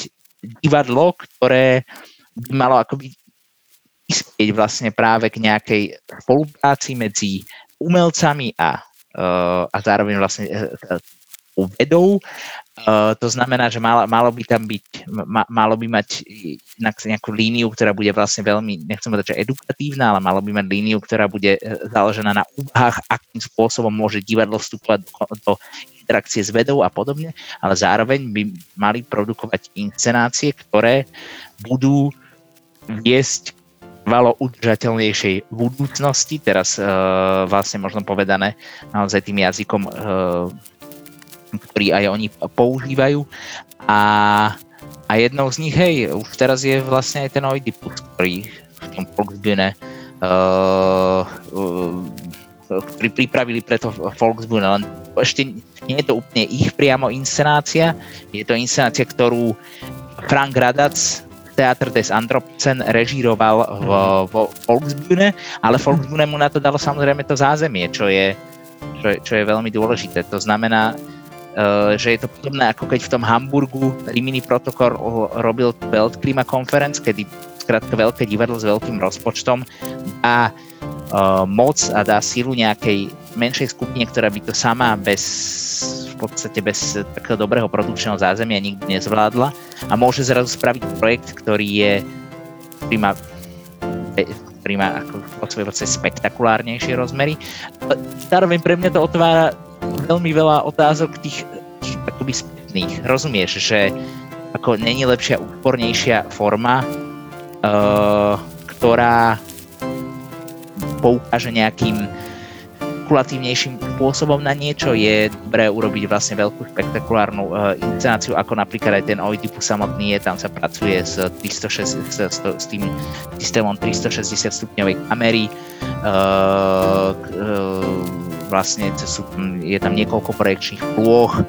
divadlo, ktoré by malo akoby prispieť vlastne práve k nejakej spolupráci medzi umelcami a, a zároveň vlastne vedou. Uh, to znamená, že malo, malo by tam byť, ma, malo by mať nejakú líniu, ktorá bude vlastne veľmi, nechcem povedať, že edukatívna, ale malo by mať líniu, ktorá bude založená na úvahách, akým spôsobom môže divadlo vstupovať do, do interakcie s vedou a podobne, ale zároveň by mali produkovať inscenácie, ktoré budú viesť valo udržateľnejšej budúcnosti, teraz uh, vlastne možno povedané naozaj tým jazykom uh, ktorý aj oni používajú a, a jednou z nich, hej, už teraz je vlastne aj ten Oidipus, ktorý v tom Volksbühne uh, uh, ktorý pripravili preto Volksbühne, len ešte nie je to úplne ich priamo inscenácia, je to inscenácia, ktorú Frank Radac Theater des Anthropocen režíroval v, v Volksbühne, ale Volksbühne mu na to dalo samozrejme to zázemie, čo je, čo je, čo je veľmi dôležité. To znamená, Uh, že je to podobné ako keď v tom Hamburgu Rimini protokol robil Weltklima Conference, kedy skrátka veľké divadlo s veľkým rozpočtom dá uh, moc a dá silu nejakej menšej skupine, ktorá by to sama bez v podstate bez takého dobrého produkčného zázemia nikdy nezvládla a môže zrazu spraviť projekt, ktorý je ktorý má, ktorý má ako po svojej podstate spektakulárnejšie rozmery. Zároveň pre mňa to otvára veľmi veľa otázok tých, tých akoby spätných. Rozumieš, že ako není lepšia, úpornejšia forma, uh, ktorá poukáže nejakým kulatívnejším spôsobom na niečo, je dobré urobiť vlastne veľkú spektakulárnu uh, inscenáciu, ako napríklad aj ten Oidipus samotný je, tam sa pracuje s, tristošesť, s, s, s tým systémom tristošesťdesiat stupňovej kamery, uh, uh, vlastne sú, je tam niekoľko projekčných plôch, e,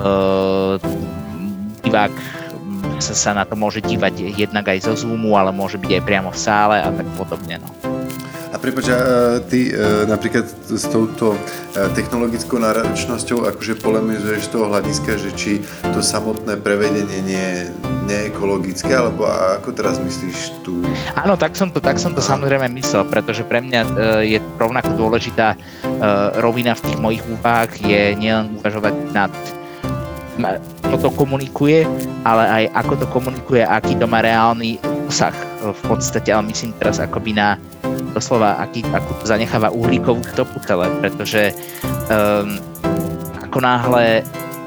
divák sa, sa na to môže dívať jednak aj zo Zoomu, ale môže byť aj priamo v sále a tak podobne. No. A prepáč, ty napríklad s touto technologickou náročnosťou akože polemizuješ z toho hľadiska, že či to samotné prevedenie nie je neekologické, alebo ako teraz myslíš tu? Áno, tak som to, tak som to samozrejme myslel, pretože pre mňa je rovnako dôležitá rovina v tých mojich úvahách je nielen uvažovať nad čo to komunikuje, ale aj ako to komunikuje, aký to má reálny obsah v podstate, ale myslím teraz akoby na doslova, aký, ako to zanecháva uhlíkovú stopu celé, pretože um, ako náhle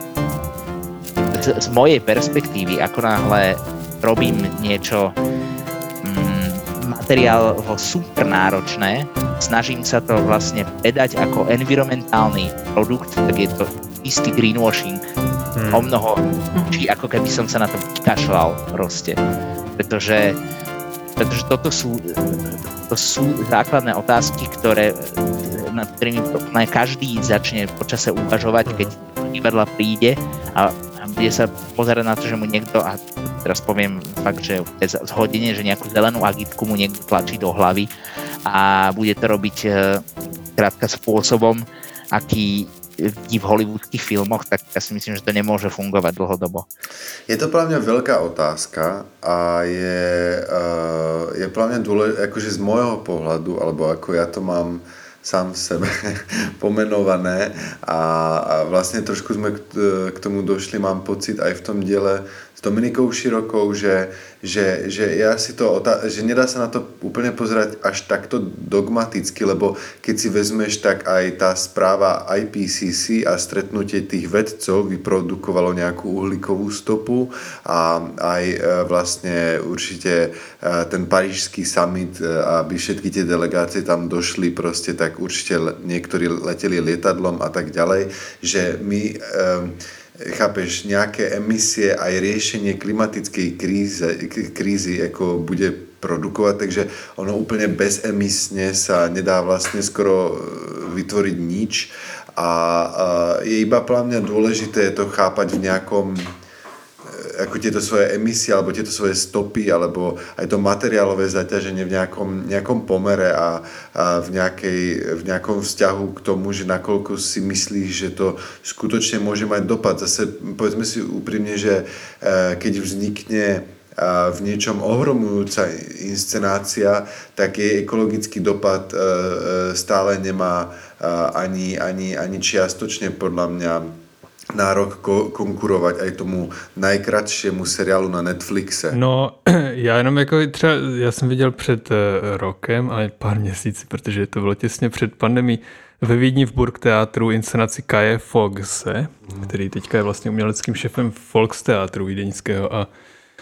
z, z mojej perspektívy, ako náhle robím niečo um, materiál vo super náročné, snažím sa to vlastne predať ako environmentálny produkt, tak je to istý greenwashing hmm. o mnoho, či ako keby som sa na to kašľal proste, pretože pretože toto sú, to sú základné otázky, ktoré, nad ktorými každý začne počase uvažovať, keď divadla príde a bude sa pozerať na to, že mu niekto, a teraz poviem fakt, že je zhodenie, že nejakú zelenú agitku mu niekto tlačí do hlavy a bude to robiť krátka spôsobom, aký v hollywoodských filmoch, tak ja si myslím, že to nemôže fungovať dlhodobo. Je to pre mňa veľká otázka a je, je pre mňa dôležité, akože z môjho pohľadu, alebo ako ja to mám sám v sebe pomenované a, a vlastne trošku sme k, k tomu došli, mám pocit aj v tom diele s Dominikou Širokou, že, že, že, ja si to, že nedá sa na to úplne pozerať až takto dogmaticky, lebo keď si vezmeš, tak aj tá správa í pé cé cé a stretnutie tých vedcov vyprodukovalo nejakú uhlíkovú stopu a aj vlastne určite ten parížský summit, aby všetky tie delegácie tam došli proste, tak určite niektorí leteli lietadlom a tak ďalej, že my chápeš, nejaké emisie aj riešenie klimatickej kríze, krízy ako bude produkovať, takže ono úplne bezemisne sa nedá vlastne skoro vytvoriť nič a, a je iba pre mňa dôležité to chápať v nejakom ako tieto svoje emisie alebo tieto svoje stopy alebo aj to materiálové zaťaženie v nejakom, nejakom pomere a, a v, nejakej, v nejakom vzťahu k tomu, že nakoľko si myslíš, že to skutočne môže mať dopad. Zase povedzme si úprimne, že keď vznikne v niečom ohromujúca inscenácia, tak jej ekologický dopad stále nemá ani, ani, ani čiastočne podľa mňa nárok ko- konkurovat aj tomu najkratšiemu seriálu na Netflixe. No, já jenom jako třeba, já jsem viděl před uh, rokem, ale pár měsíci, protože to bylo těsně před pandemí, ve Vídni v Burgtheatru inscenaci Kaje Fogse, mm. který teďka je vlastně uměleckým šefem Volksteatru vídeňského a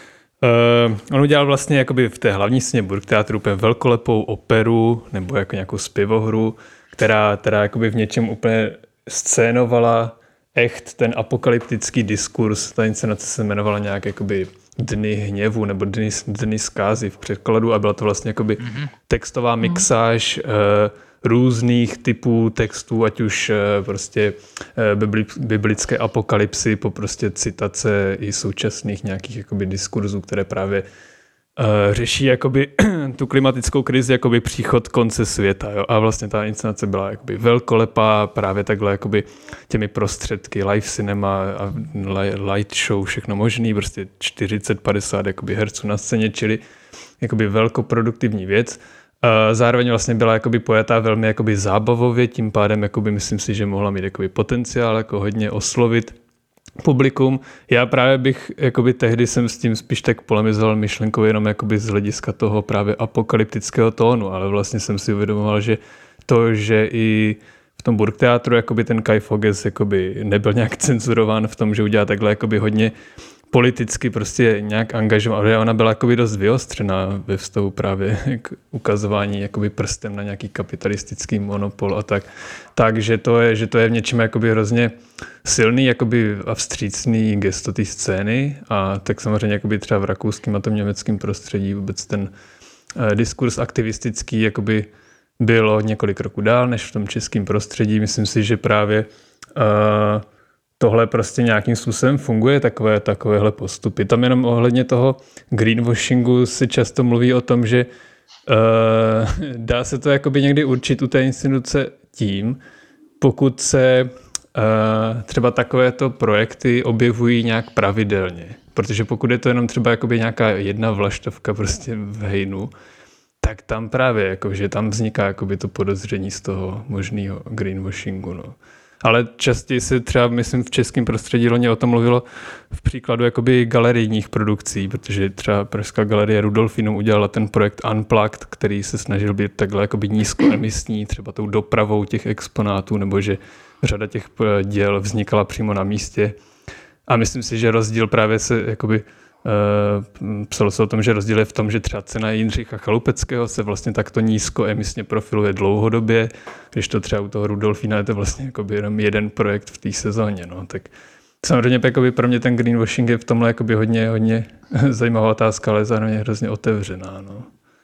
uh, on udělal vlastně jakoby v té hlavní scéně Burgtheatru úplně velkolepou operu nebo jako nějakou zpěvohru, která, která jakoby v něčem úplně scénovala echt ten apokalyptický diskurs. Ta inscenace se jmenovala nějak jakoby Dny hněvu nebo Dny, dny zkázy v překladu a byla to vlastně jakoby mm-hmm. textová mixáž mm-hmm. uh, různých typů textů, ať už uh, prostě uh, bibli, biblické apokalypsy po prostě citace i současných nějakých jakoby diskurzů, které právě Uh, řeší jakoby tu klimatickou krizi, jakoby příchod konce světa. Jo? A vlastně ta inscenace byla jakoby velkolepá, právě takhle jakoby těmi prostředky, live cinema a light show, všechno možný, prostě čtyřicet padesát jakoby herců na scéně, čili jakoby velkoproduktivní věc. Uh, zároveň vlastně byla jakoby pojatá velmi jakoby zábavově, tím pádem jakoby myslím si, že mohla mít jakoby potenciál jako hodně oslovit publikum. Já právě bych, jakoby tehdy jsem s tím spíš tak polemizoval myšlenkou jenom jakoby z hlediska toho právě apokalyptického tónu, ale vlastně jsem si uvědomoval, že to, že i v tom Burgtheatru jakoby ten Kai Fogges jakoby nebyl nějak cenzurován v tom, že udělá takhle jakoby hodně politicky prostě nějak angažovaná, ale ona byla jakoby dost vyostřená ve vztahu právě k ukazování jakoby prstem na nějaký kapitalistický monopol a tak. Takže to je, že to je v něčem jakoby hrozně silný jakoby a vstřícný gesto té scény a tak samozřejmě jakoby třeba v rakouském a tom německém prostředí vůbec ten eh, diskurs aktivistický jakoby bylo několik roků dál než v tom českém prostředí. Myslím si, že právě eh, tohle prostě nějakým způsobem funguje, takové, takovéhle postupy. Tam jenom ohledně toho greenwashingu se často mluví o tom, že uh, dá se to jakoby někdy určit u té instituce tím, pokud se uh, třeba takovéto projekty objevují nějak pravidelně. Protože pokud je to jenom třeba jakoby nějaká jedna vlaštovka prostě v hejnu, tak tam právě jako, že tam vzniká jakoby to podezření z toho možného greenwashingu. No. Ale častěji se třeba, myslím, v českém prostředí loni o tom mluvilo v příkladu jakoby galerijních produkcí, protože třeba Pražská galerie Rudolfinum udělala ten projekt Unplugged, který se snažil být takhle jakoby nízkoemisní, třeba tou dopravou těch exponátů, nebo že řada těch děl vznikala přímo na místě. A myslím si, že rozdíl právě se jakoby Uh, psalo se o tom, že rozdíl je v tom, že třeba cena Jindřicha Chalupeckého se vlastně takto nízkoemisně profiluje dlouhodobě, když to třeba u toho Rudolfína je to vlastně jakoby jenom jeden projekt v té sezóně. No. Tak samozřejmě jakoby pro mě ten greenwashing je v tomhle jakoby hodně, hodně zajímavá otázka, ale zároveň hrozně otevřená. No.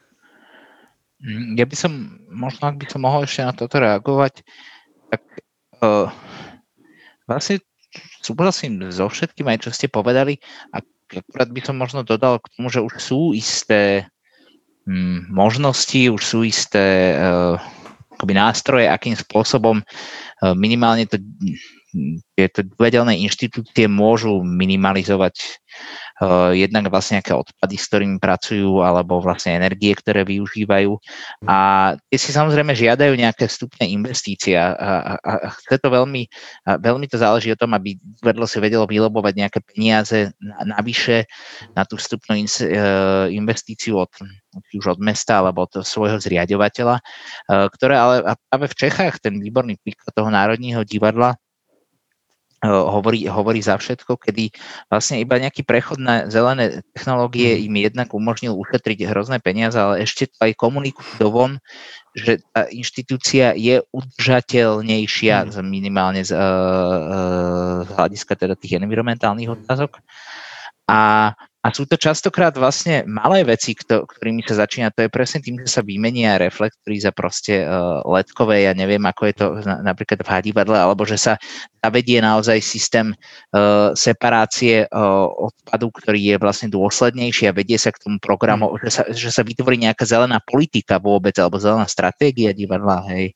Ja by som, možno ak by som mohol ešte na toto reagovať, tak uh, vlastne súhlasím so všetkým aj čo ste povedali a akurát by som možno dodal k tomu, že už sú isté hm, možnosti, už sú isté uh, akoby nástroje, akým spôsobom uh, minimálne to, tieto divadelné inštitúcie môžu minimalizovať uh, jednak vlastne nejaké odpady, s ktorými pracujú, alebo vlastne energie, ktoré využívajú. A tie si samozrejme žiadajú nejaké vstupné investície a, a, a chce to veľmi, a veľmi to záleží o tom, aby divadlo si vedelo vylobovať nejaké peniaze na, navyše na tú vstupnú in, uh, investíciu od, už od mesta alebo od svojho zriaďovateľa, uh, ktoré ale a práve v Čechách ten výborný príklad toho Národního divadla Hovorí, hovorí za všetko, kedy vlastne iba nejaký prechod na zelené technológie im jednak umožnil ušetriť hrozné peniaze, ale ešte to aj komunikujú dovon, že tá inštitúcia je udržateľnejšia mm. minimálne z, z hľadiska teda tých environmentálnych otázok. A, A sú to častokrát vlastne malé veci, ktorými sa začína. To je presne tým, že sa vymenia reflektory za proste uh, ledkové, ja neviem, ako je to na, napríklad v hadivadle, alebo že sa zavedie naozaj systém uh, separácie uh, odpadu, ktorý je vlastne dôslednejší a vedie sa k tomu programu, mm. že, sa, že sa vytvorí nejaká zelená politika vôbec, alebo zelená stratégia divadla, hej.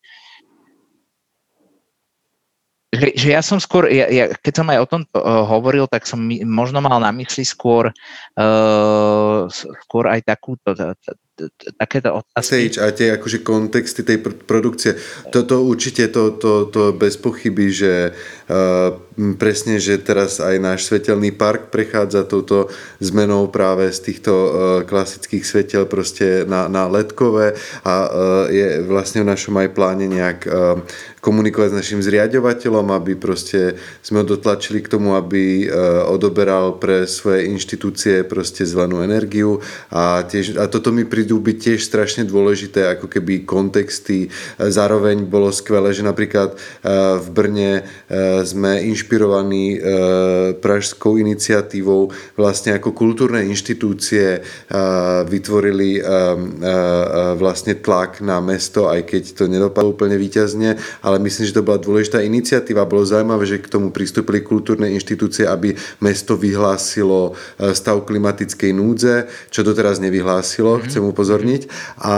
Že, že ja som skôr, ja, ja, keď som aj o tom uh, hovoril, tak som mi, možno mal na mysli skôr, uh, skôr aj takúto, t, t, t, takéto otázky. Stage a tie akože kontexty tej pr- produkcie. Toto určite, to, to, to bez pochyby, že uh, presne, že teraz aj náš svetelný park prechádza touto zmenou práve z týchto uh, klasických svetel proste na, na ledkové a uh, je vlastne v našom aj pláne nejak uh, komunikovať s našim zriaďovateľom, aby proste sme ho dotlačili k tomu, aby odoberal pre svoje inštitúcie proste zelenú energiu a, tiež, a toto mi prídu byť tiež strašne dôležité ako keby kontexty. Zároveň bolo skvelé, že napríklad v Brne sme inšpirovaní pražskou iniciatívou vlastne ako kultúrne inštitúcie vytvorili vlastne tlak na mesto, aj keď to nedopadlo úplne víťazne, ale myslím, že to bola dôležitá iniciatíva. Bolo zaujímavé, že k tomu pristúpili kultúrne inštitúcie, aby mesto vyhlásilo stav klimatickej núdze, čo doteraz nevyhlásilo, mm. chcem upozorniť. A, a,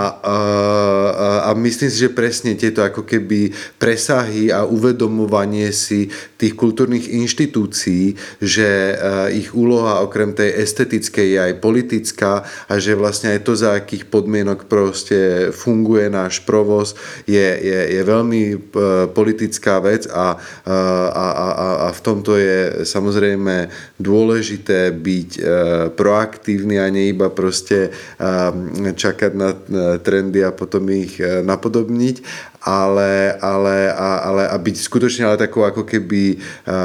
a myslím si, že presne tieto ako keby presahy a uvedomovanie si tých kultúrnych inštitúcií, že ich úloha okrem tej estetickej je aj politická a že vlastne aj to, za akých podmienok proste funguje náš provoz, je, je, je veľmi politická vec a, a, a, a v tomto je samozrejme dôležité byť proaktívny a nie iba proste čakať na trendy a potom ich napodobniť, ale, ale, ale a byť skutočne ale takou ako keby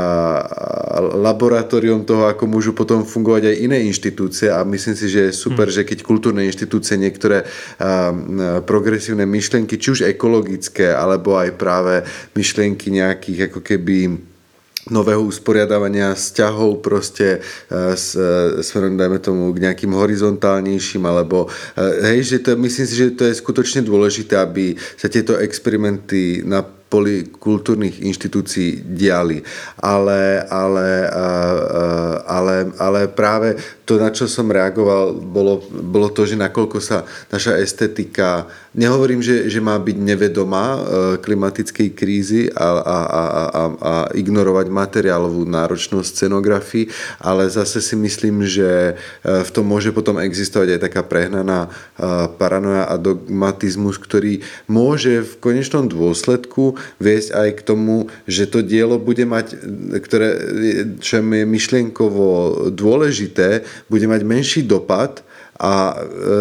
laboratórium toho, ako môžu potom fungovať aj iné inštitúcie a myslím si, že je super, hmm. že keď kultúrne inštitúcie niektoré progresívne myšlienky, či už ekologické, alebo aj práve myšlienky nejakých ako keby nového usporiadavania vzťahov proste s, smerom, dajme tomu, k nejakým horizontálnejším, alebo hej, že to, myslím si, že to je skutočne dôležité, aby sa tieto experimenty na poli kultúrnych inštitúcií diali. Ale, ale, ale, ale práve to, na čo som reagoval, bolo, bolo to, že nakoľko sa naša estetika, nehovorím, že, že má byť nevedomá klimatickej krízy a, a, a, a, a ignorovať materiálovú náročnosť scenografii, ale zase si myslím, že v tom môže potom existovať aj taká prehnaná paranoja a dogmatizmus, ktorý môže v konečnom dôsledku viesť aj k tomu, že to dielo bude mať, ktoré, čo je myšlienkovo dôležité, bude mať menší dopad a e,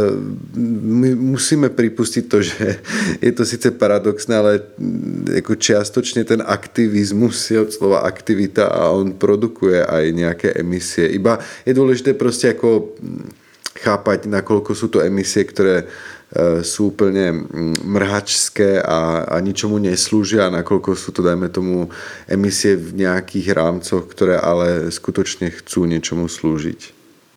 my musíme pripustiť to, že je to síce paradoxné, ale ako čiastočne ten aktivizmus je od slova aktivita a on produkuje aj nejaké emisie. Iba je dôležité proste ako chápať, nakoľko sú to emisie, ktoré sú úplne mrhačské a, a ničomu neslúžia, nakoľko sú to, dajme tomu, emisie v nejakých rámcoch, ktoré ale skutočne chcú niečomu slúžiť.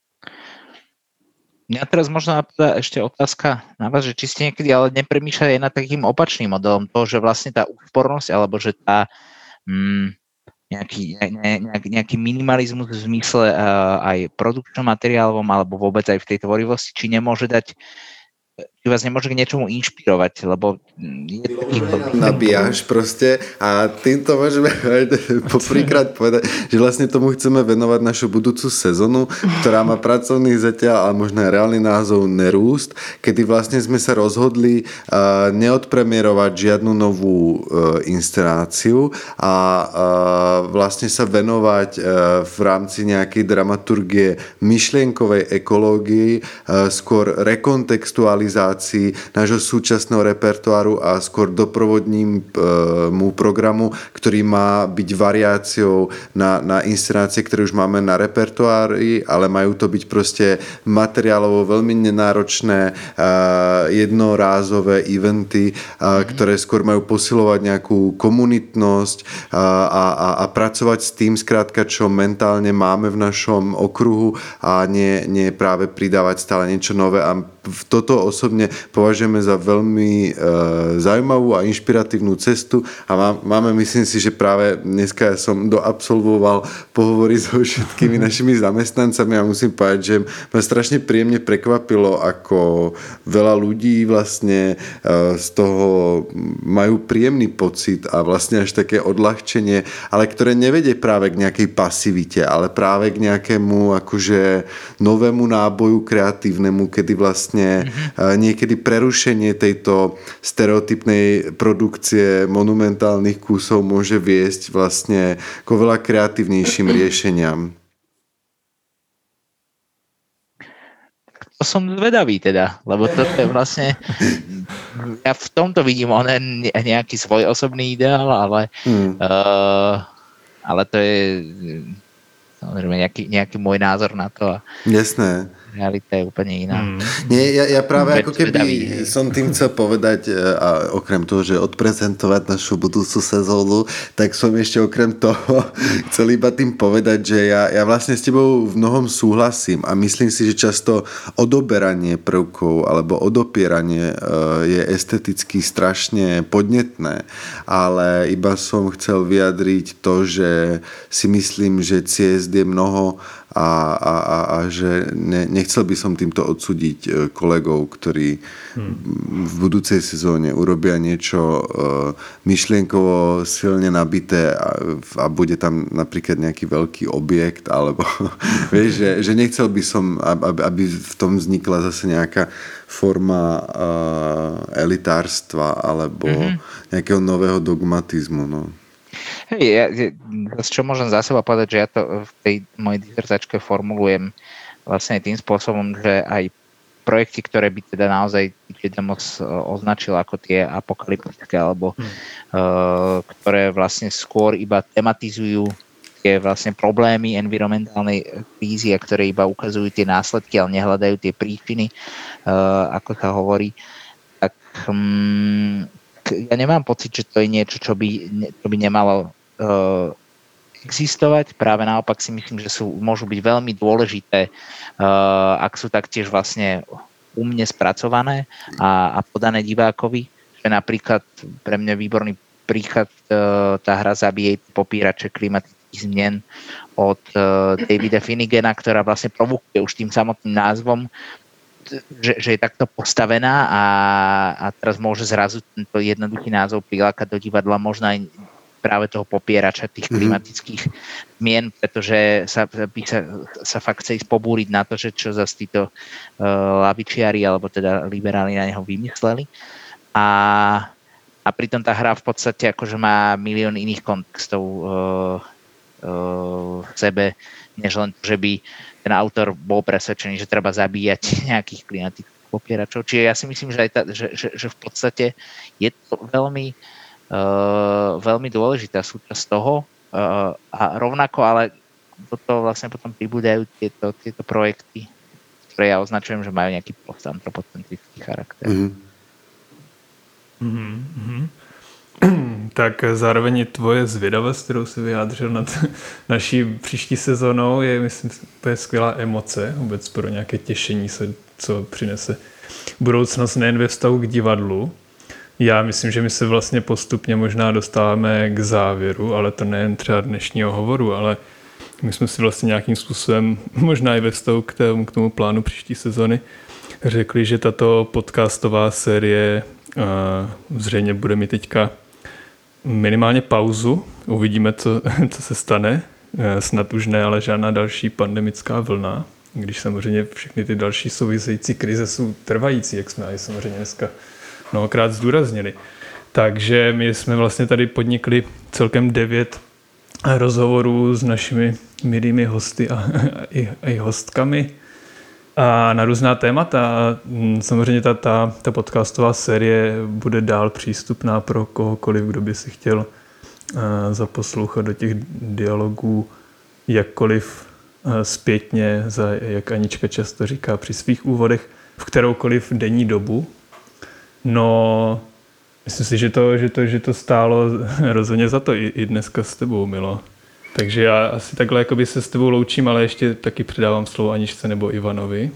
Mňa teraz možno napadá ešte otázka na vás, že či ste niekedy ale nepremýšľali aj nad takým opačným modelom toho, že vlastne tá úspornosť, alebo že tá mm, nejaký, ne, nejaký, nejaký minimalizmus v zmysle uh, aj produkčnom materiálovom, alebo vôbec aj v tej tvorivosti, či nemôže dať či vás nemôže k niečomu inšpirovať, lebo je to taký... Nabíjaš proste a týmto môžeme poprvýkrát povedať, že vlastne tomu chceme venovať našu budúcu sezónu, ktorá má pracovný zatiaľ, ale možno aj reálny názov Nerúst, kedy vlastne sme sa rozhodli uh, neodpremierovať žiadnu novú uh, inscenáciu a uh, vlastne sa venovať uh, v rámci nejakej dramaturgie myšlienkovej ekológii, uh, skôr rekontextualizácii inšpirácií nášho súčasného repertoáru a skôr doprovodním mu programu, ktorý má byť variáciou na, na inscenácie, ktoré už máme na repertoári, ale majú to byť proste materiálovo veľmi nenáročné jednorázové eventy, ktoré skôr majú posilovať nejakú komunitnosť a, a, a pracovať s tým skrátka, čo mentálne máme v našom okruhu a nie, nie práve pridávať stále niečo nové. A toto osobne považujeme za veľmi e, zaujímavú a inšpiratívnu cestu a má, máme, myslím si, že práve dneska som doabsolvoval pohovory so všetkými našimi zamestnancami a musím povedať, že ma strašne príjemne prekvapilo, ako veľa ľudí vlastne e, z toho majú príjemný pocit a vlastne až také odľahčenie, ale ktoré nevedie práve k nejakej pasivite, ale práve k nejakému akože novému náboju kreatívnemu, kedy vlastne mm-hmm. niekedy prerušenie tejto stereotypnej produkcie monumentálnych kusov môže viesť vlastne k oveľa kreatívnejším riešeniam. To som zvedavý teda, lebo toto je vlastne ja v tomto vidím onen nejaký svoj osobný ideál, ale mm. uh, ale to je samozrejme nejaký, nejaký môj názor na to. A jasné. Realita je úplne iná. Mm. Nie, ja, ja práve ako keby som tým chcel povedať, a okrem toho, že odprezentovať našu budúcu sezónu, tak som ešte okrem toho chcel iba tým povedať, že ja, ja vlastne s tebou v mnohom súhlasím a myslím si, že často odoberanie prvkov alebo odopieranie je esteticky strašne podnetné, ale iba som chcel vyjadriť to, že si myslím, že ciest je mnoho a, a, a, a že ne, nechcel by som týmto odsúdiť kolegov, ktorí hmm. v budúcej sezóne urobia niečo myšlienkovo silne nabité a, a bude tam napríklad nejaký veľký objekt alebo vieš, že, že nechcel by som, aby, aby v tom vznikla zase nejaká forma uh, elitárstva alebo mm-hmm. nejakého nového dogmatizmu, no. Hej, ja, čo môžem za seba povedať, že ja to v tej mojej dizertačke formulujem vlastne tým spôsobom, že aj projekty, ktoré by teda naozaj Demos označil ako tie apokalyptické, alebo hmm. uh, ktoré vlastne skôr iba tematizujú tie vlastne problémy environmentálnej krízy a ktoré iba ukazujú tie následky, ale nehľadajú tie príčiny, uh, ako sa hovorí, tak um, ja nemám pocit, že to je niečo, čo by, čo by nemalo uh, existovať. Práve naopak si myslím, že sú, môžu byť veľmi dôležité, uh, ak sú taktiež vlastne umne spracované a, a podané divákovi. Že napríklad pre mňa výborný príklad uh, tá hra Zabíjej popírače klimatických zmien od uh, Davida Finnigana, ktorá vlastne provokuje už tým samotným názvom, Že, že je takto postavená a, a teraz môže zrazu tento jednoduchý názov prilákať do divadla možno aj práve toho popierača tých klimatických zmien, pretože sa, sa, sa fakt chce ísť pobúriť na to, že čo zase títo uh, lavičiari alebo teda liberáli na neho vymysleli. A, a pritom tá hra v podstate akože má milión iných kontextov uh, uh, v sebe, než len to, že by ten autor bol presvedčený, že treba zabíjať nejakých klimatických popieračov. Čiže ja si myslím, že, aj tá, že, že, že v podstate je to veľmi, uh, veľmi dôležitá súčasť toho uh, a rovnako, ale toto vlastne potom pribúdajú tieto, tieto projekty, ktoré ja označujem, že majú nejaký postantropocentrický charakter. Mm-hmm. Mm-hmm. Tak zároveň je tvoje zvědavost, kterou si vyjádřil nad naší příští sezónou, je, myslím, úplně skvělá emoce vůbec pro nějaké těšení se, co přinese budoucnost nejen ve vztahu k divadlu. Já myslím, že my se vlastně postupně možná dostáváme k závěru, ale to nejen třeba dnešního hovoru, ale my jsme si vlastně nějakým způsobem, možná i ve vztahu k tomu, k tomu plánu příští sezony, řekli, že tato podcastová série uh, zřejmě bude mít teďka minimálně pauzu. Uvidíme, co, co se stane. Snad už ne, ale žádná další pandemická vlna, když samozřejmě všechny ty další související krize jsou trvající, jak jsme aj samozřejmě dneska mnohokrát zdůraznili. Takže my jsme vlastně tady podnikli celkem devět rozhovorů s našimi milými hosty a, a, i, a i hostkami. a na různá témata. Samozřejmě ta, ta, ta podcastová série bude dál přístupná pro kohokoliv, kdo by si chtěl uh, zaposlouchat do těch dialogů jakkoliv uh, zpětně, za, jak Anička často říká při svých úvodech, v kteroukoliv denní dobu. No, myslím si, že to, že to, že to stálo rozhodně za to i, i dneska s tebou, Milo. Takže já asi takhle jakoby se s tebou loučím, ale ještě taky předávám slovo Aničce nebo Ivanovi.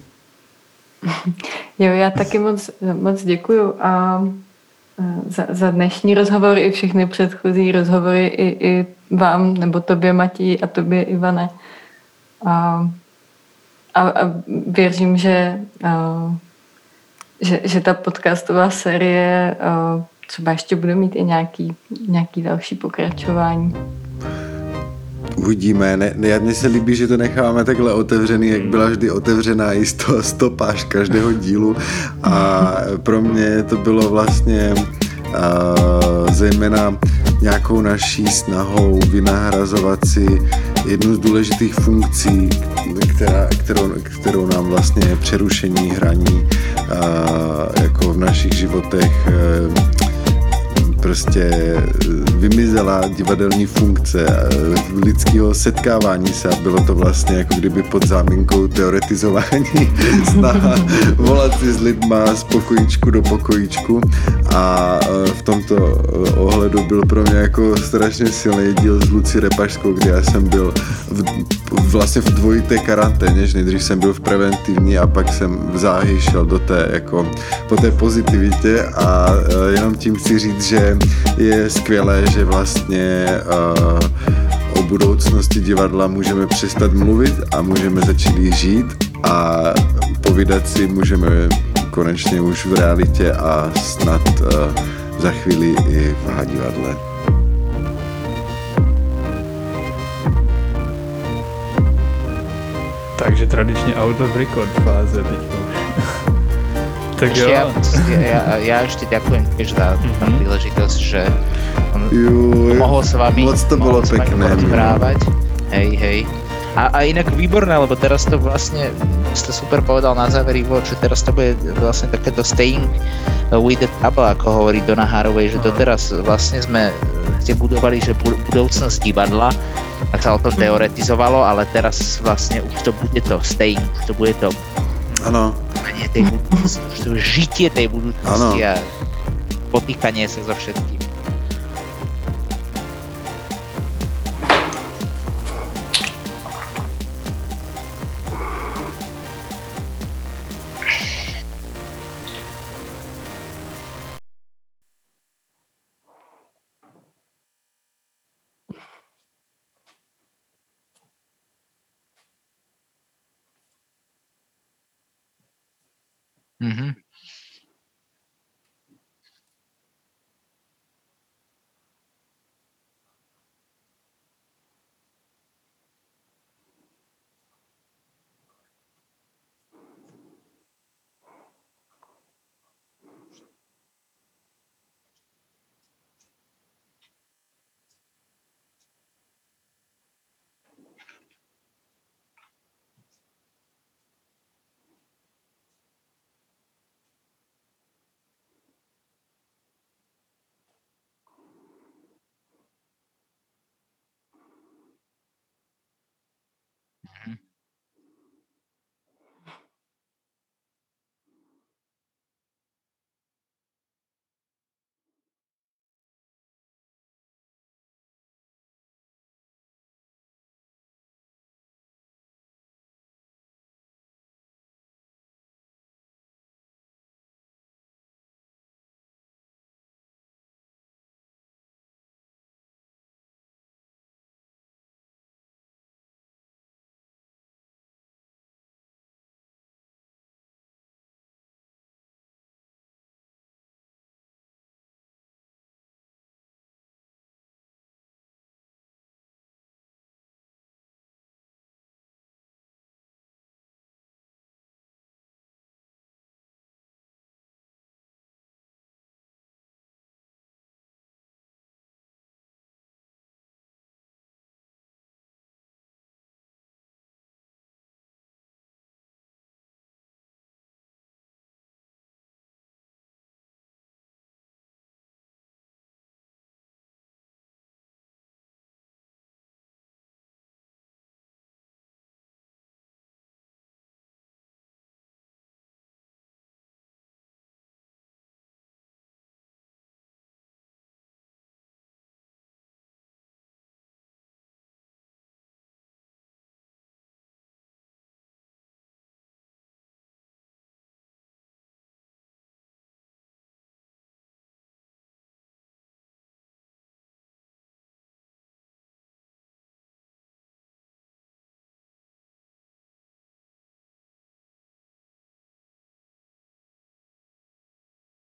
Jo, já taky moc, moc děkuju a za, za dnešní rozhovor i všechny předchozí rozhovory i, i vám, nebo tobě, Matěji, a tobě, Ivane. A, a, a věřím, že, a, že, že ta podcastová série a, třeba ještě bude mít i nějaký, nějaký další pokračování. Uvidíme. Ne, ne, mně se líbí, že to necháváme takhle otevřený, jak byla vždy otevřená i sto, stopáž každého dílu. A pro mě to bylo vlastně uh, zejména nějakou naší snahou vynahrazovat si jednu z důležitých funkcí, která, kterou, kterou nám vlastně přerušení hraní uh, jako v našich životech uh, prostě vymizela divadelní funkce lidského setkávání se a bylo to vlastně jako kdyby pod záminkou teoretizování snaha volat si s lidma z pokojíčku do pokojíčku a v tomto ohledu byl pro mě jako strašně silný díl s Lucí Repašskou, kde já jsem byl v, vlastně v dvojité karanténě, že nejdřív jsem byl v preventivní a pak jsem v záhy šel do té jako po té pozitivitě a jenom tím chci říct, že je skvělé, že vlastně uh, o budoucnosti divadla můžeme přestat mluvit a můžeme začít žít a povídat si můžeme konečně už v realitě a snad uh, za chvíli i v H divadle. Takže tradičně out of record fáze teďka už. Tak jo. Ja, ja, ja ešte ďakujem tiež za mm-hmm. príležitosť, že Juj, mohol s vami, moc to bolo pekné, rozprávať. Hej, hej. A, a inak výborné, lebo teraz to vlastne, ste super povedal na záver, Ivo, že teraz to bude vlastne takéto staying with the trouble, ako hovorí Donna Haraway, že to teraz vlastne sme ste budovali, že budúcnosť divadla, tak sa o tom teoretizovalo, ale teraz vlastne už to bude to staying, už to bude to ano. tej budúcnosti, to žitie tej budúcnosti ano. A potýkanie sa so všetkým. Mm-hmm.